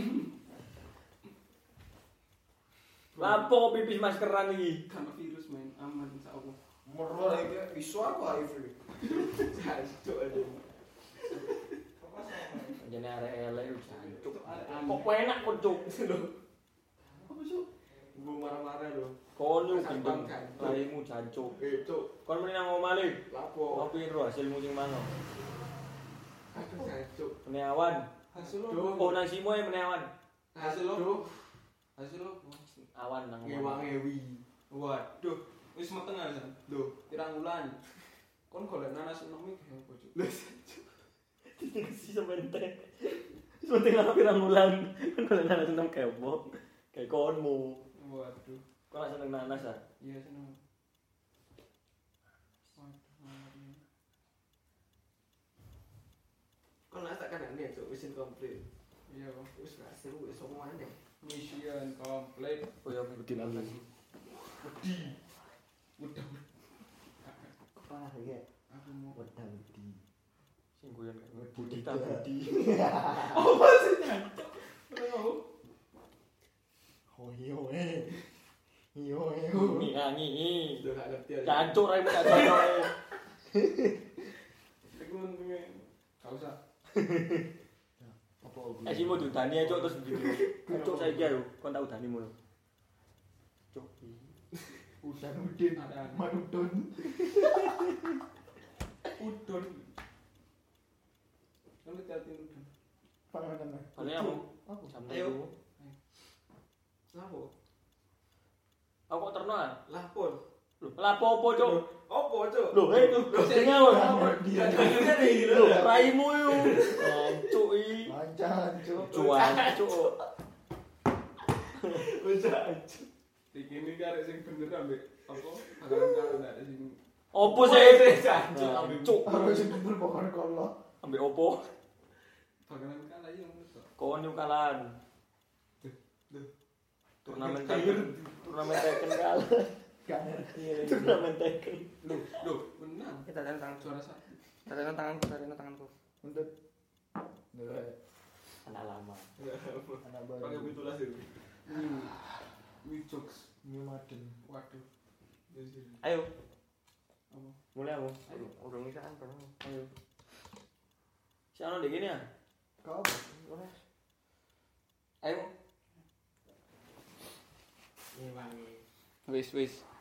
Lapo pipis maskeran iki. Karena virus main aman insyaallah. Merol iki isu aku H I V. Jancuk aja. Jane arek elek yo jancuk. Kok Kok enak kok cuk. apa sih? Gue marah-marah lho. Kon yo Kasar gendeng. bangkai. Laimu jancuk. Eh, cuk. Kon meni nang omah le. Lapo? Ngopi ro hasilmu sing mana? Aduh, jancuk. Meneawan. Hasil lo. Oh nang simo ya meneawan. Hasil lo. Hasil lo. Awan nang Ngewang ngewi. Waduh, wis meteng aja. Lho, pirang wulan. Kon golek nanas enom iki apa, Cuk? Lho, Si semente. Semente nang pirang bulan. Kon kalau nanas seneng kepo. Kayak konmu. waduh. Kok gak seneng nanas ah? Iya seneng. Waduh. Kon nak tak kan nek mission complete. Iya, Wis hasil wis omongan deh. mission complete. Oh ya wedi nanas. Wedi. Udah. Parah ya. Aku mau Wedang wedi. Sing guyon kayak budi ta budi. apa sih jancuk? Ora. Oh iya eh. Iya eh. Nyanyi. Udah gak ngerti aja. Cancuk raimu gak cocok. Aku ngene. Gak usah. Apa Eh simo diudani aja terus begitu. Cuk saiki ayo kon tak udani mulu. Cuk. Udan Udin. Ada. Manudon. Udon. Kan hati-hati udon. Panganan. Paling aku Apa? jam Ayo. telu. Lapo? Aku kok terno ah? Lapor. Lho, lapo opo, Cuk? Opo, Cuk? Lho, eh, jenenge wong. Dia. Lho, raimu yo. Ancuk iki. Lancar, Cuk. Cuan, Cuk. Wis aja. Iki ini karek sing bener ambek apa? Bakalan karo ndak ada sing Opo sih? Jancuk Ancuk. Harus sing bener pokoknya kalau. Ambek opo? bakalan kalah ya ngono. Kon yo kalan. Turnamen Tekken. Turnamen Tekken kalah. Gak ngerti. Turnamen Tekken. Lho, lho, menang. Kita tarik tangan. Juara satu. Tarik tanganku, tarik tanganku. Untuk nilai Anak lama. anak Pakai baru. pitulas itu. Hmm. New jokes. New Madden. Waduh. Ayo. Apa? Mulai aku. Ayo, udah ngisaan bareng. Ayo. Si ano dek ini ya? Kau apa? Ayo. Ngewangi. Wis, wis.